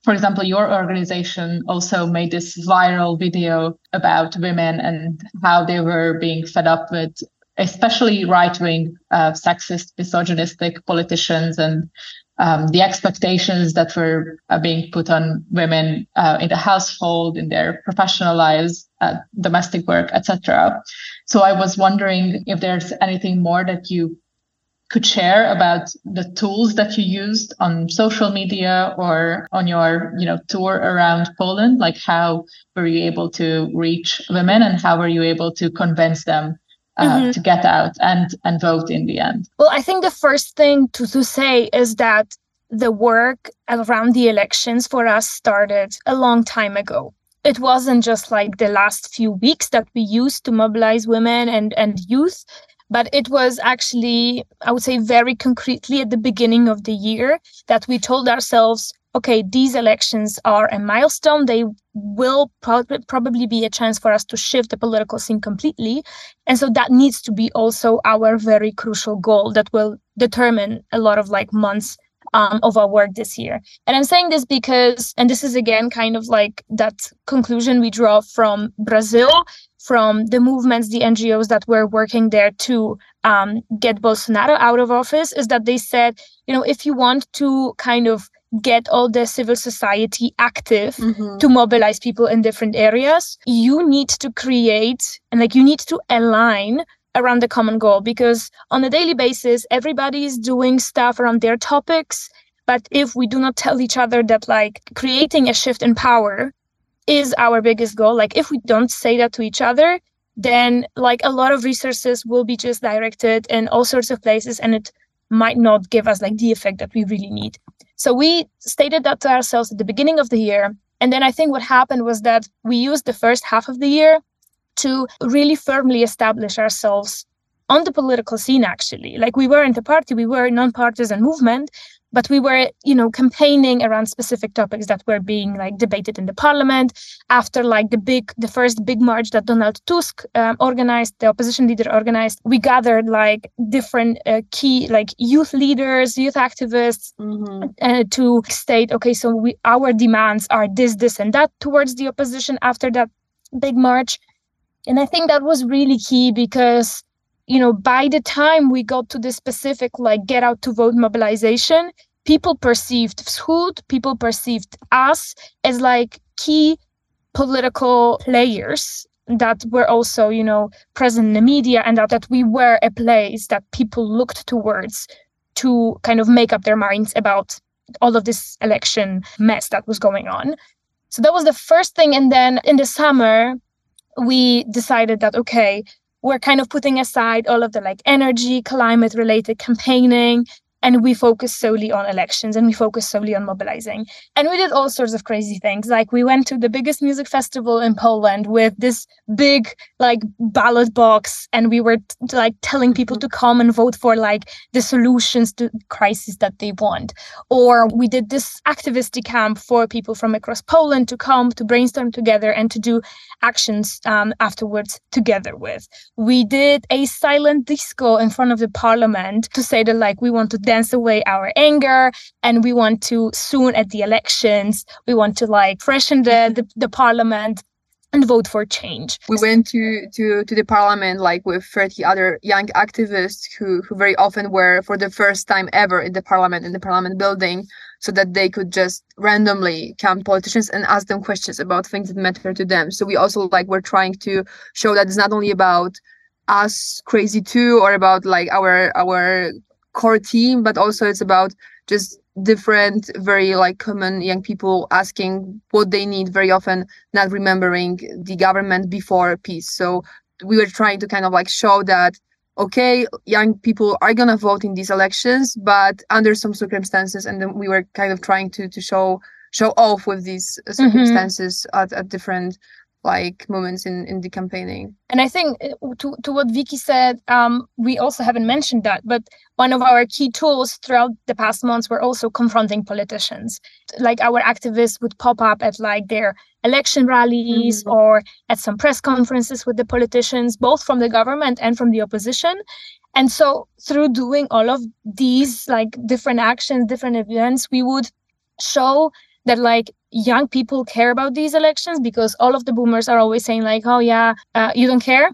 for example, your organization also made this viral video about women and how they were being fed up with especially right-wing, uh, sexist, misogynistic politicians and um, the expectations that were uh, being put on women uh, in the household, in their professional lives, uh, domestic work, et cetera. So I was wondering if there's anything more that you could share about the tools that you used on social media or on your, you know, tour around Poland. Like, how were you able to reach women and how were you able to convince them Uh, mm-hmm. to get out and, and vote in the end? Well, I think the first thing to, to say is that the work around the elections for us started a long time ago. It wasn't just like the last few weeks that we used to mobilize women and, and youth, but it was actually, I would say, very concretely at the beginning of the year that we told ourselves, okay, these elections are a milestone. They will pro- probably be a chance for us to shift the political scene completely. And so that needs to be also our very crucial goal that will determine a lot of like months um, of our work this year. And I'm saying this because, and this is again kind of like that conclusion we draw from Brazil, from the movements, the N G Os that were working there to um, get Bolsonaro out of office, is that they said, you know, if you want to kind of get all the civil society active mm-hmm. to mobilize people in different areas, you need to create and like you need to align around the common goal, because on a daily basis, everybody is doing stuff around their topics. But if we do not tell each other that like creating a shift in power is our biggest goal, like if we don't say that to each other, then like a lot of resources will be just directed in all sorts of places and it might not give us like the effect that we really need. So we stated that to ourselves at the beginning of the year. And then I think what happened was that we used the first half of the year to really firmly establish ourselves on the political scene, actually. Like we weren't a party, we were a non-partisan movement, but we were, you know, campaigning around specific topics that were being like debated in the parliament. After like the big, the first big march that Donald Tusk um, organized, the opposition leader organized, we gathered like different uh, key like youth leaders, youth activists mm-hmm. uh, to state, okay, so we our demands are this, this, and that towards the opposition after that big march. And I think that was really key because, you know, by the time we got to the specific, like, get out to vote mobilization, people perceived Wschód, people perceived us as like key political players that were also, you know, present in the media, and that, that we were a place that people looked towards to kind of make up their minds about all of this election mess that was going on. So that was the first thing. And then in the summer, we decided that, okay, we're kind of putting aside all of the like energy, climate related campaigning, and we focus solely on elections and we focus solely on mobilizing. And we did all sorts of crazy things. Like we went to the biggest music festival in Poland with this big like ballot box, and we were t- like telling people to come and vote for like the solutions to crises that they want. Or we did this activity camp for people from across Poland to come to brainstorm together and to do actions um, afterwards together with. We did a silent disco in front of the parliament to say that like we want to dance away our anger, and we want to soon at the elections, we want to like freshen the, the, the parliament and vote for change. We went to, to, to the parliament like with thirty other young activists who, who very often were for the first time ever in the parliament, in the parliament building, so that they could just randomly come to politicians and ask them questions about things that matter to them. So we also like we're trying to show that it's not only about us crazy too, or about like our our core team, but also it's about just different, very like common young people asking what they need, very often not remembering the government before peace. So we were trying to kind of like show that, okay, young people are going to vote in these elections, but under some circumstances. And then we were kind of trying to to show show off with these circumstances mm-hmm. at, at different like moments in, in the campaigning. And I think to, to what Vicky said, um, we also haven't mentioned that, but one of our key tools throughout the past months were also confronting politicians. Like our activists would pop up at like their election rallies mm-hmm. or at some press conferences with the politicians, both from the government and from the opposition. And so through doing all of these like different actions, different events, we would show that like young people care about these elections, because all of the boomers are always saying like, oh yeah, uh, you don't care.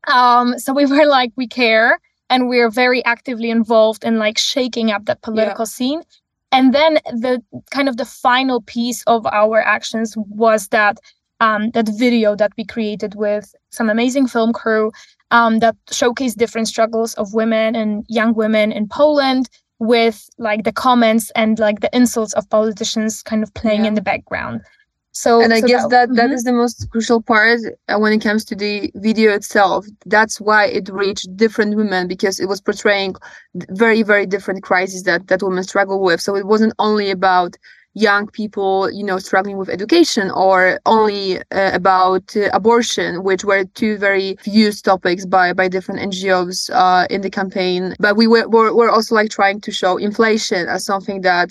Um, so we were like, we care, and we're very actively involved in like shaking up that political yeah. scene. And then the kind of the final piece of our actions was that um, that video that we created with some amazing film crew um, that showcased different struggles of women and young women in Poland, with like the comments and like the insults of politicians kind of playing yeah. in the background. So, and I so guess that that, mm-hmm. that is the most crucial part uh, when it comes to the video itself. That's why it reached different women, because it was portraying very, very different crises that, that women struggle with. So it wasn't only about young people, you know, struggling with education, or only uh, about uh, abortion, which were two very used topics by, by different N G Os uh, in the campaign. But we were, were, were also like trying to show inflation as something that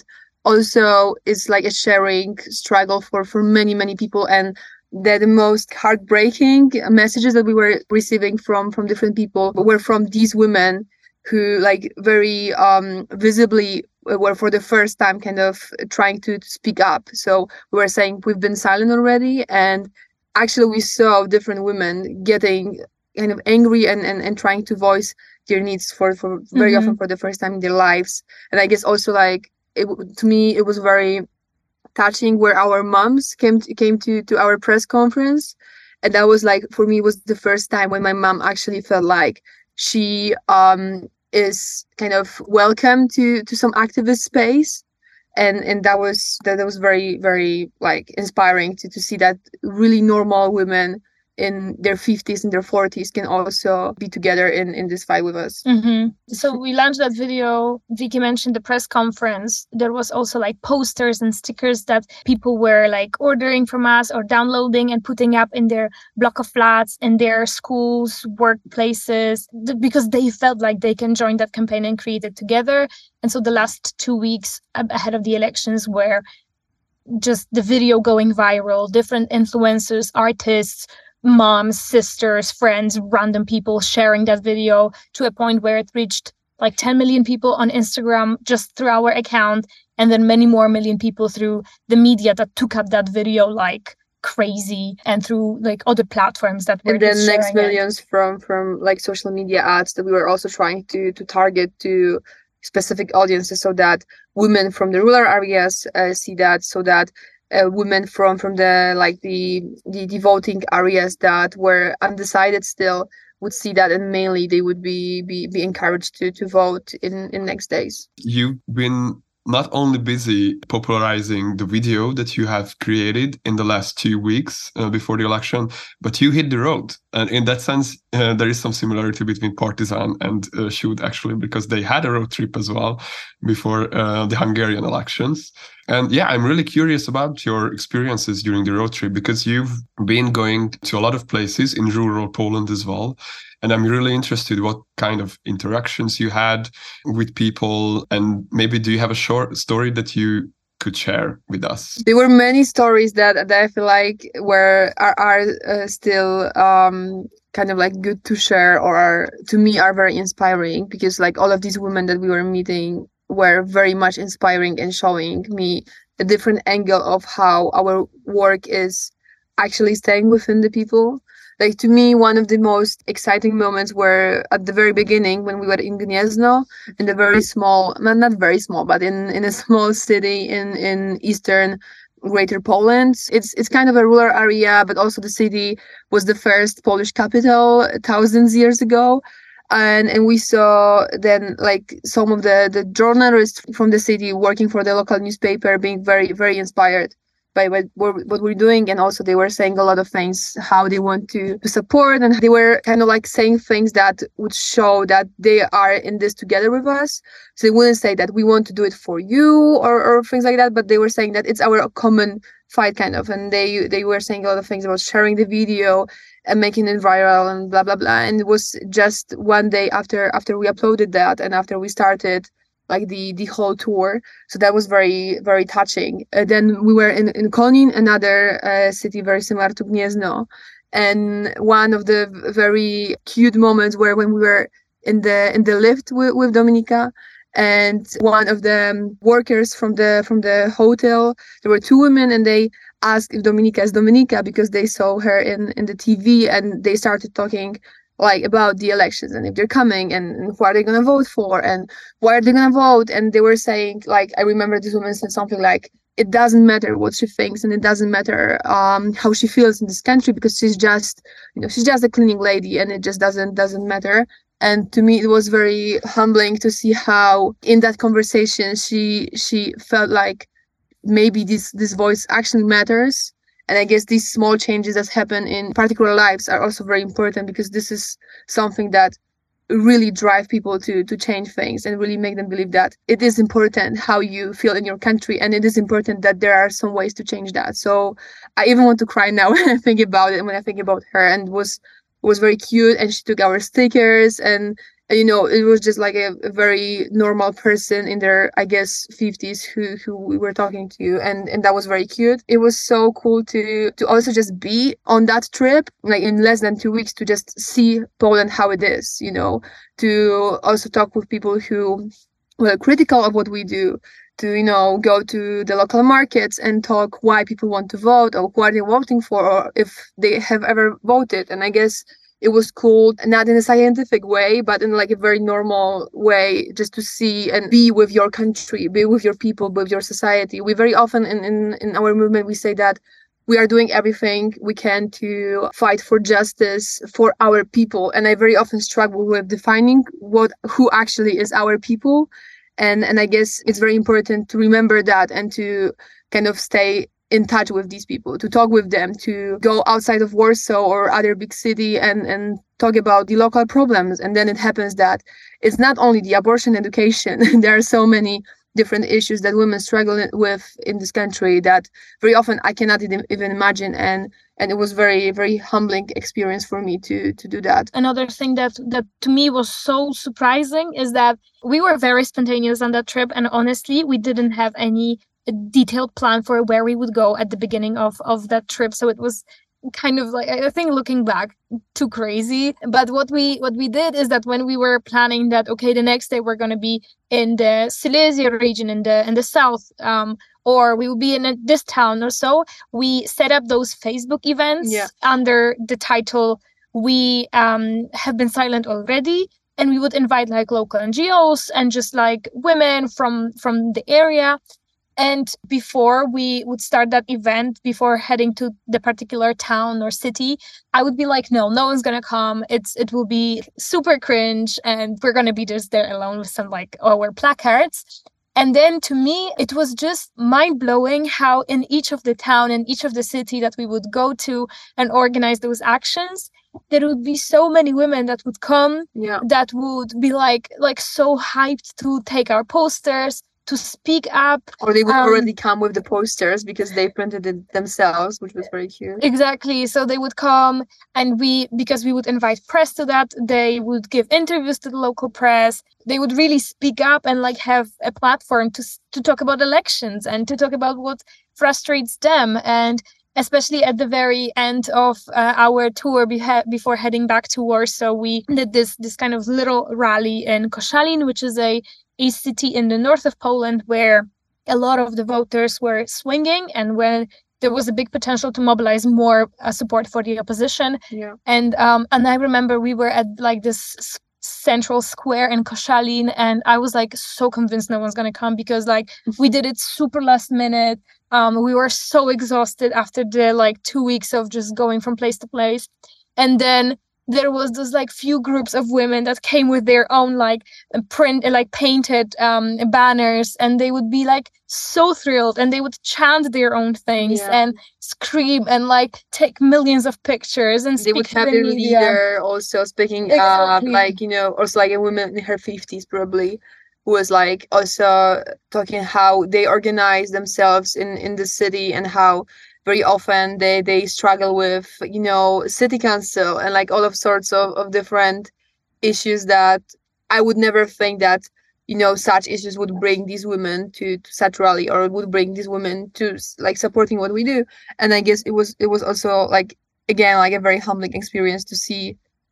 also is like a sharing struggle for, for many, many people. And that the most heartbreaking messages that we were receiving from, from different people were from these women who like very um, visibly were for the first time kind of trying to, to speak up. So we were saying we've been silent already. And actually we saw different women getting kind of angry and, and, and trying to voice their needs for, for very mm-hmm. often for the first time in their lives. And I guess also like, it, to me, it was very touching where our moms came to, came to, to our press conference. And that was like, for me, was the first time when my mom actually felt like she um, is kind of welcome to, to some activist space. And and that was that, that was very, very like inspiring to, to see that really normal women in their fifties and their forties can also be together in, in this fight with us. Mm-hmm. So we launched that video. Vicky mentioned the press conference. There was also like posters and stickers that people were like ordering from us or downloading and putting up in their block of flats, in their schools, workplaces, th- because they felt like they can join that campaign and create it together. And so the last two weeks ahead of the elections were just the video going viral, different influencers, artists, moms, sisters, friends, random people sharing that video to a point where it reached like ten million people on Instagram just through our account, and then many more million people through the media that took up that video like crazy, and through like other platforms that were and then next it. millions from from like social media ads that we were also trying to to target to specific audiences, so that women from the rural areas uh, see that, so that Uh, women from from the like the, the the voting areas that were undecided still would see that, and mainly they would be be, be encouraged to to vote in in next days. You've been not only busy popularizing the video that you have created in the last two weeks uh, before the election, but you hit the road. And in that sense, uh, there is some similarity between Partizan and uh, Shoot, actually, because they had a road trip as well before uh, the Hungarian elections. And yeah, I'm really curious about your experiences during the road trip, because you've been going to a lot of places in rural Poland as well. And I'm really interested what kind of interactions you had with people, and maybe do you have a short story that you could share with us? There were many stories that, that I feel like were are, are uh, still um, kind of like good to share, or are, to me are very inspiring, because like all of these women that we were meeting were very much inspiring and showing me a different angle of how our work is actually staying within the people. Like, to me, one of the most exciting moments were at the very beginning when we were in Gniezno, in a very small, well, not very small, but in, in a small city in, in eastern Greater Poland. It's it's kind of a rural area, but also the city was the first Polish capital thousands years ago. And and we saw then like some of the, the journalists from the city working for the local newspaper being very, very inspired by what, what we're doing. And also they were saying a lot of things, how they want to, to support. And they were kind of like saying things that would show that they are in this together with us. So they wouldn't say that we want to do it for you or, or things like that, but they were saying that it's our common fight kind of. And they they were saying a lot of things about sharing the video and making it viral and blah, blah, blah. And it was just one day after after we uploaded that and after we started like the the whole tour. So that was very, very touching. Uh, then we were in, in Konin, another uh, city very similar to Gniezno. And one of the very cute moments were when we were in the in the lift with, with Dominika, And one of the um, workers from the from the hotel, there were two women, and they asked if Dominika is Dominika because they saw her in, in the T V, and they started talking like about the elections and if they're coming and, and who are they going to vote for and why are they going to vote. And they were saying, like, I remember this woman said something like, it doesn't matter what she thinks and it doesn't matter um, how she feels in this country because she's just, you know, she's just a cleaning lady and it just doesn't doesn't matter. And to me, it was very humbling to see how in that conversation she she felt like maybe this this voice actually matters. And I guess these small changes that happen in particular lives are also very important because this is something that really drive people to to change things and really make them believe that it is important how you feel in your country, and it is important that there are some ways to change that. So I even want to cry now when I think about it and when I think about her. And it was it was very cute, and she took our stickers, and you know, it was just like a, a very normal person in their, I guess, fifties who who we were talking to, and and that was very cute. It was so cool to to also just be on that trip, like in less than two weeks, to just see Poland how it is, you know, to also talk with people who were critical of what we do, to, you know, go to the local markets and talk why people want to vote or who are they voting for or if they have ever voted. And I guess it was cool, not in a scientific way, but in like a very normal way, just to see and be with your country, be with your people, be with your society. We very often in, in, in our movement, we say that we are doing everything we can to fight for justice for our people. And I very often struggle with defining what who actually is our people. And, and I guess it's very important to remember that and to kind of stay in touch with these people, to talk with them, to go outside of Warsaw or other big city and, and talk about the local problems. And then it happens that it's not only the abortion education. There are so many different issues that women struggle with in this country that very often I cannot even imagine. And and it was very, very humbling experience for me to to do that. Another thing that that to me was so surprising is that we were very spontaneous on that trip, and honestly, we didn't have any a detailed plan for where we would go at the beginning of, of that trip. So it was kind of like, I think looking back, too crazy. But what we what we did is that when we were planning that, okay, the next day we're going to be in the Silesia region in the in the south, um, or we will be in a, this town or so, we set up those Facebook events yeah. under the title, We um, Have Been Silent Already. And we would invite like local N G Os and just like women from from the area. And before we would start that event, before heading to the particular town or city, I would be like, no, no one's going to come. It's It will be super cringe. And we're going to be just there alone with some like our placards. And then to me, it was just mind blowing how in each of the town and each of the city that we would go to and organize those actions, there would be so many women that would come, yeah. that would be like like so hyped to take our posters, to speak up. Or they would um, already come with the posters because they printed it themselves, which was very cute. Exactly. So they would come, and we, because we would invite press to that, they would give interviews to the local press. They would really speak up and like have a platform to to talk about elections and to talk about what frustrates them. And especially at the very end of uh, our tour beha- before heading back to Warsaw, we did this this kind of little rally in Koszalin, which is a a city in the north of Poland where a lot of the voters were swinging and when there was a big potential to mobilize more uh, support for the opposition. Yeah. And um, and I remember we were at like this s- central square in Koszalin, and I was like so convinced no one's going to come because like we did it super last minute. Um, we were so exhausted after the like two weeks of just going from place to place. And then there was those like few groups of women that came with their own like print, like painted um, banners, and they would be like so thrilled, and they would chant their own things yeah. and scream and like take millions of pictures. And they would have the their media. leader also speaking Exactly. up, like, you know, also like a woman in her fifties probably, who was like also talking how they organize themselves in in the city and how very often they they struggle with, you know, city council and like all of sorts of, of different issues that I would never think that, you know, such issues would bring these women to, to such rally, or would bring these women to like supporting what we do. And I guess it was it was also like, again, like a very humbling experience to see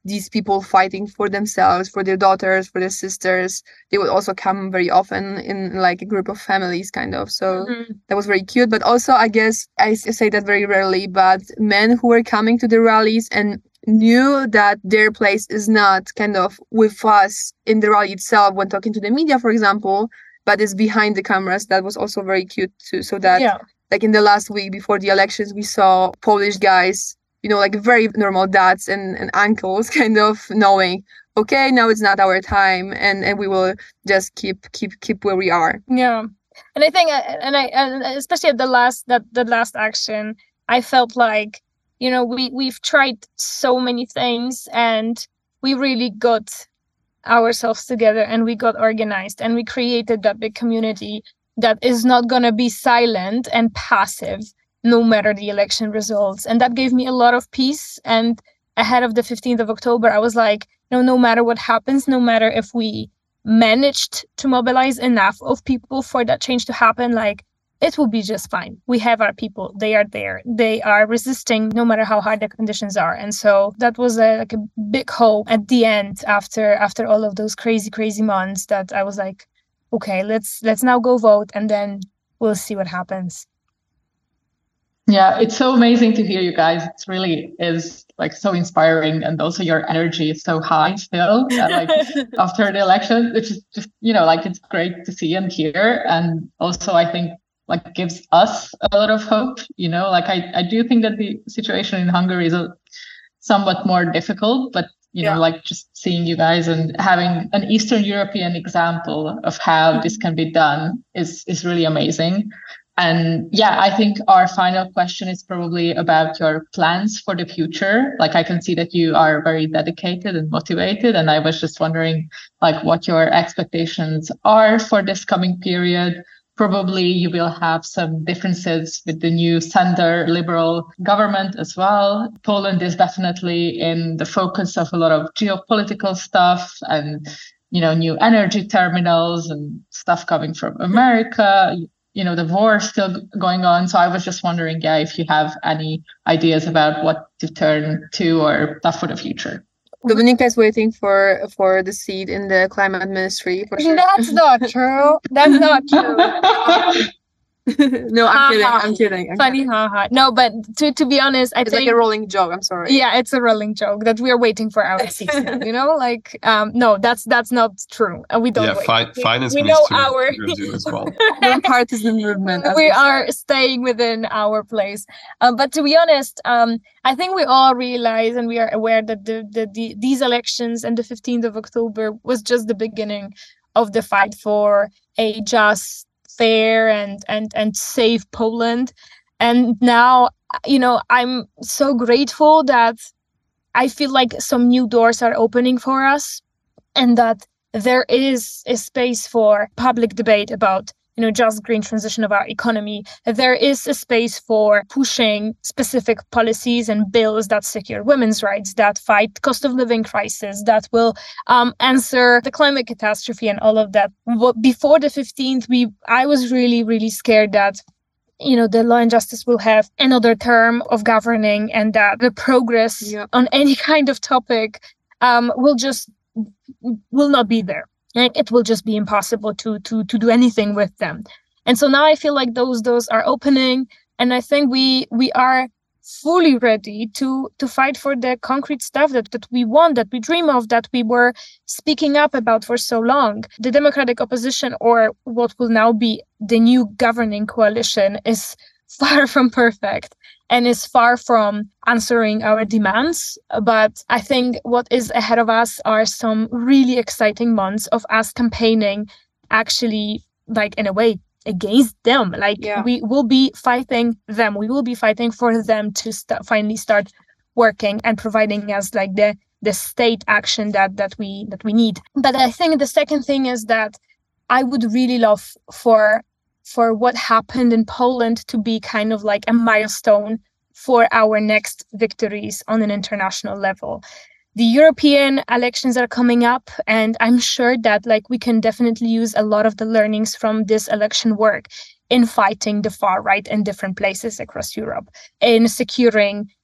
these people fighting for themselves, for their daughters, for their sisters. They would also come very often in like a group of families, kind of. So mm-hmm. that was very cute. But also, I guess I say that very rarely, but men who were coming to the rallies and knew that their place is not kind of with us in the rally itself when talking to the media, for example, but is behind the cameras. That was also very cute too. So that yeah. like in the last week before the elections, we saw Polish guys, you know, like very normal dads and, and uncles kind of knowing, okay, now it's not our time, and, and we will just keep keep keep where we are. Yeah. And I think, and I, and especially at the last, that the last action, I felt like, you know, we, we've tried so many things and we really got ourselves together and we got organized and we created that big community that is not going to be silent and passive no matter the election results. And that gave me a lot of peace. And ahead of the fifteenth of October, I was like, no, no matter what happens, no matter if we managed to mobilize enough of people for that change to happen, like it will be just fine. We have our people. They are there. They are resisting no matter how hard the conditions are. And so that was a, like a big hope at the end after after all of those crazy, crazy months that I was like, okay, let's let's now go vote and then we'll see what happens. Yeah, it's so amazing to hear you guys. It really is like so inspiring, and also your energy is so high still. Uh, like after the election, which is just, you know, like it's great to see and hear, and also I think like gives us a lot of hope. You know, like I I do think that the situation in Hungary is a, somewhat more difficult, but you yeah. know, like just seeing you guys and having an Eastern European example of how mm-hmm. this can be done is is really amazing. And yeah, I think our final question is probably about your plans for the future. Like I can see that you are very dedicated and motivated. And I was just wondering like what your expectations are for this coming period. Probably you will have some differences with the new center liberal government as well. Poland is definitely in the focus of a lot of geopolitical stuff and, you know, new energy terminals and stuff coming from America. You know, the war is still going on. So I was just wondering, yeah, if you have any ideas about what to turn to or stuff for the future. Dominika is waiting for for the seat in the climate ministry. For sure. That's not true. That's not true. No, I'm kidding. I'm kidding. I'm Funny, kidding. haha. No, but to to be honest, I it's think like a rolling joke. I'm sorry. Yeah, it's a rolling joke that we are waiting for our season. You know, like um, no, that's that's not true. And we don't. Yeah, wait. fi- we, finance we needs know to our do as well. We're partisan movement. We are staying within our place. Um, but to be honest, um, I think we all realize and we are aware that the, the the these elections and the fifteenth of October was just the beginning of the fight for a just, fair and and and safe Poland. And now, you know, I'm so grateful that I feel like some new doors are opening for us and that there is a space for public debate about, you know, just green transition of our economy. There is a space for pushing specific policies and bills that secure women's rights, that fight cost of living crisis, that will um, answer the climate catastrophe and all of that. Before the fifteenth, we I was really, really scared that, you know, the Law and Justice will have another term of governing and that the progress yeah. on any kind of topic um, will just will not be there. Like it will just be impossible to to to do anything with them. And so now I feel like those doors are opening, and I think we we are fully ready to to fight for the concrete stuff that, that we want, that we dream of, that we were speaking up about for so long. The democratic opposition, or what will now be the new governing coalition, is far from perfect and is far from answering our demands. But I think what is ahead of us are some really exciting months of us campaigning actually, like in a way, against them. Like yeah. we will be fighting them. We will be fighting for them to st- finally start working and providing us like the the state action that that we that we need. But I think the second thing is that I would really love for for what happened in Poland to be kind of like a milestone for our next victories on an international level. The European elections are coming up, and I'm sure that like we can definitely use a lot of the learnings from this election work in fighting the far right in different places across Europe, in securing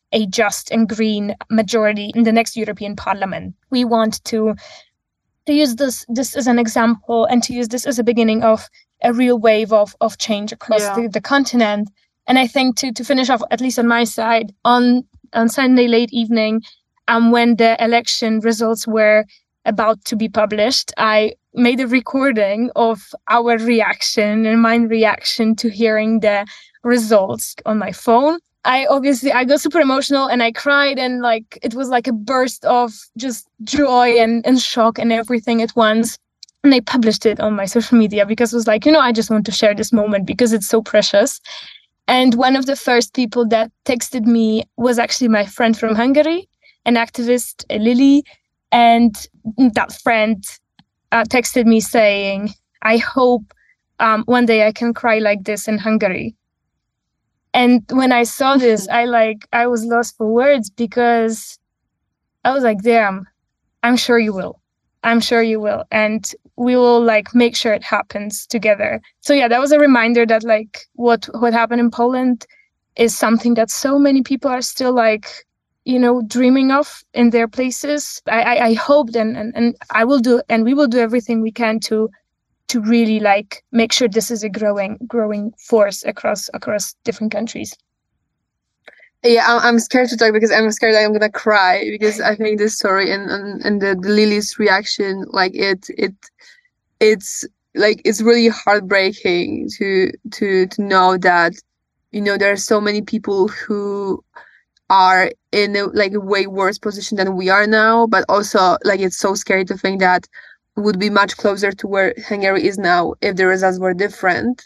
a just and green majority in the next European Parliament. We want to to use this this as an example and to use this as a beginning of a real wave of of change across Yeah. the, the continent. And I think to to finish off, at least on my side, on on Sunday late evening, um, when the election results were about to be published, I made a recording of our reaction and my reaction to hearing the results on my phone. I obviously, I got super emotional and I cried, and like, it was like a burst of just joy and, and shock and everything at once. And I published it on my social media because it was like, you know, I just want to share this moment because it's so precious. And one of the first people that texted me was actually my friend from Hungary, an activist, Lily. And that friend uh, texted me saying, I hope um, one day I can cry like this in Hungary. And when I saw this, I like, I was lost for words because I was like, damn, I'm sure you will. I'm sure you will. And we will like make sure it happens together. So yeah, that was a reminder that like what, what happened in Poland is something that so many people are still like, you know, dreaming of in their places. I, I, I hope and, and, and I will do, and we will do everything we can to to really like make sure this is a growing growing force across across different countries. Yeah, I'm, I'm scared to talk because I'm scared that I'm gonna cry because I think this story and and, and the, the Lily's reaction, like it it it's like it's really heartbreaking to to to know that, you know, there are so many people who are in a, like a way worse position than we are now, but also like it's so scary to think that we would be much closer to where Hungary is now if the results were different.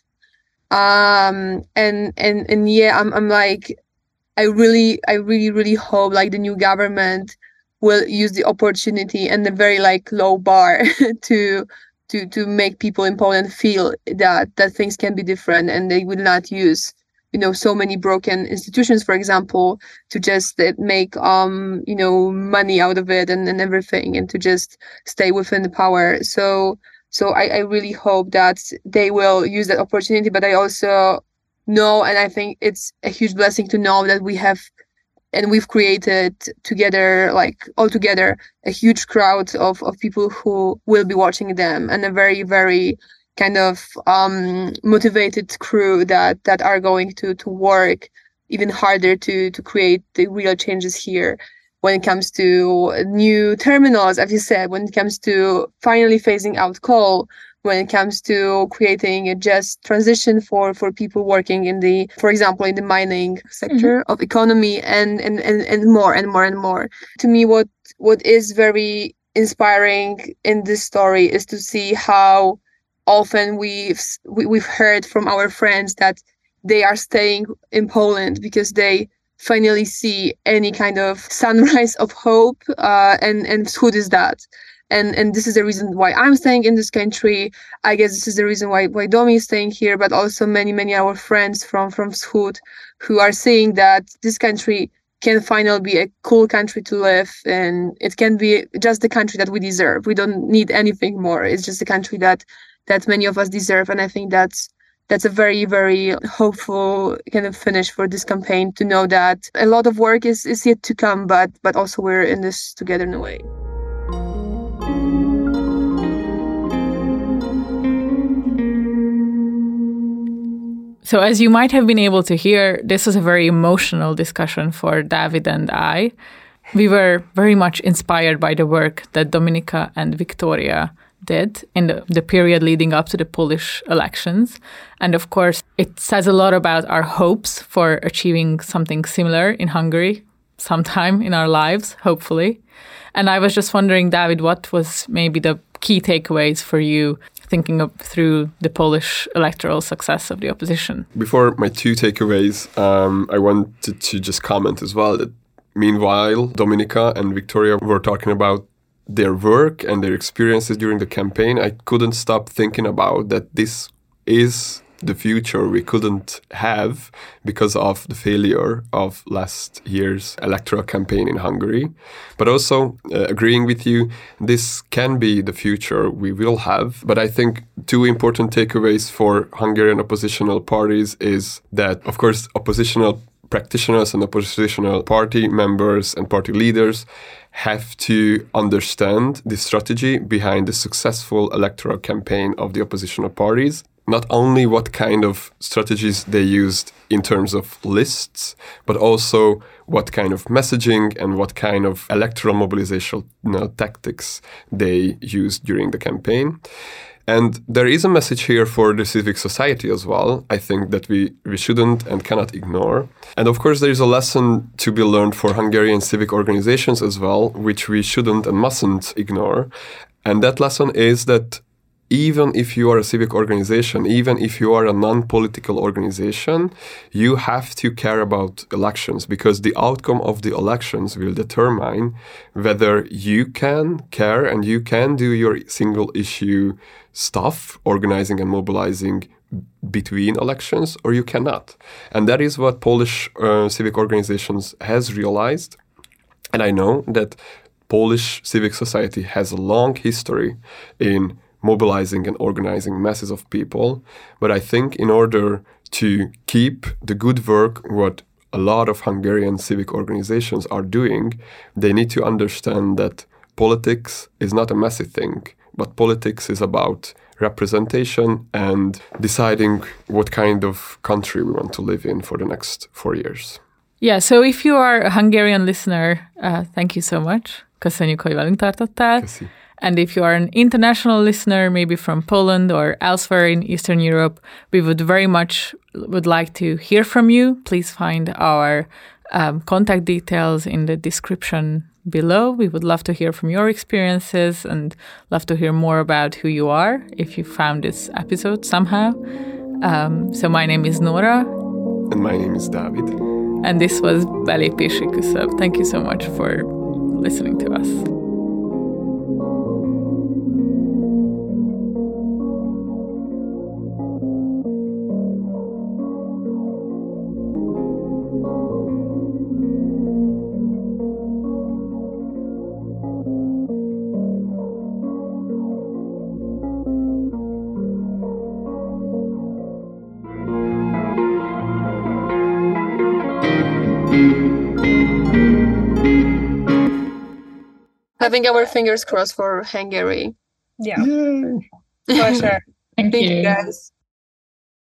Um, and and and yeah, I'm I'm like, I really I really really hope like the new government will use the opportunity and the very like low bar to to to make people in Poland feel that that things can be different, and they will not use, you know, so many broken institutions, for example, to just uh, make, um, you know, money out of it and, and everything, and to just stay within the power. So, so I, I really hope that they will use that opportunity. But I also know, and I think it's a huge blessing to know that we have, and we've created together, like all together, a huge crowd of, of people who will be watching them, and a very, very kind of um, motivated crew that that are going to to work even harder to to create the real changes here when it comes to new terminals, as you said, when it comes to finally phasing out coal, when it comes to creating a just transition for for people working in the, for example, in the mining sector mm-hmm. of economy, and, and and and more and more and more. To me, what what is very inspiring in this story is to see how often we've we, we've heard from our friends that they are staying in Poland because they finally see any kind of sunrise of hope, uh, and and Wschód is that, and and this is the reason why I'm staying in this country. I guess this is the reason why why Domi is staying here, but also many many our friends from from Wschód who are seeing that this country can finally be a cool country to live, and it can be just the country that we deserve. We don't need anything more. It's just a country that that many of us deserve. And I think that's that's a very, very hopeful kind of finish for this campaign, to know that a lot of work is, is yet to come, but but also we're in this together in a way. So as you might have been able to hear, this was a very emotional discussion for David and I. We were very much inspired by the work that Dominika and Victoria did in the, the period leading up to the Polish elections. And of course, it says a lot about our hopes for achieving something similar in Hungary sometime in our lives, hopefully. And I was just wondering, David, what was maybe the key takeaways for you thinking of through the Polish electoral success of the opposition? Before my two takeaways, um, I wanted to just comment as well that meanwhile, Dominika and Victoria were talking about their work and their experiences during the campaign. I couldn't stop thinking about that this is the future we couldn't have because of the failure of last year's electoral campaign in Hungary. But also uh, agreeing with you, this can be the future we will have. But I think two important takeaways for Hungarian oppositional parties is that, of course, oppositional practitioners and oppositional party members and party leaders have to understand the strategy behind the successful electoral campaign of the oppositional parties. Not only what kind of strategies they used in terms of lists, but also what kind of messaging and what kind of electoral mobilization, you know, tactics they used during the campaign. And there is a message here for the civic society as well, I think, that we, we shouldn't and cannot ignore. And of course, there is a lesson to be learned for Hungarian civic organizations as well, which we shouldn't and mustn't ignore. And that lesson is that even if you are a civic organization, even if you are a non-political organization, you have to care about elections, because the outcome of the elections will determine whether you can care and you can do your single issue stuff, organizing and mobilizing between elections, or you cannot. And that is what Polish uh, civic organizations has realized. And I know that Polish civic society has a long history in mobilizing and organizing masses of people. But I think in order to keep the good work, what a lot of Hungarian civic organizations are doing, they need to understand that politics is not a messy thing, but politics is about representation and deciding what kind of country we want to live in for the next four years. Yeah, so if you are a Hungarian listener, uh, thank you so much. Köszönjük, hogy velünk tartottál. Köszi. And if you are an international listener, maybe from Poland or elsewhere in Eastern Europe, we would very much would like to hear from you. Please find our um, contact details in the description below. We would love to hear from your experiences and love to hear more about who you are if you found this episode somehow. Um, so my name is Nora. And my name is David. And this was Belépési Küszöb. Thank you so much for listening to us. Having our fingers crossed for Hungary. Yeah, for sure. Thank, Thank you. you guys.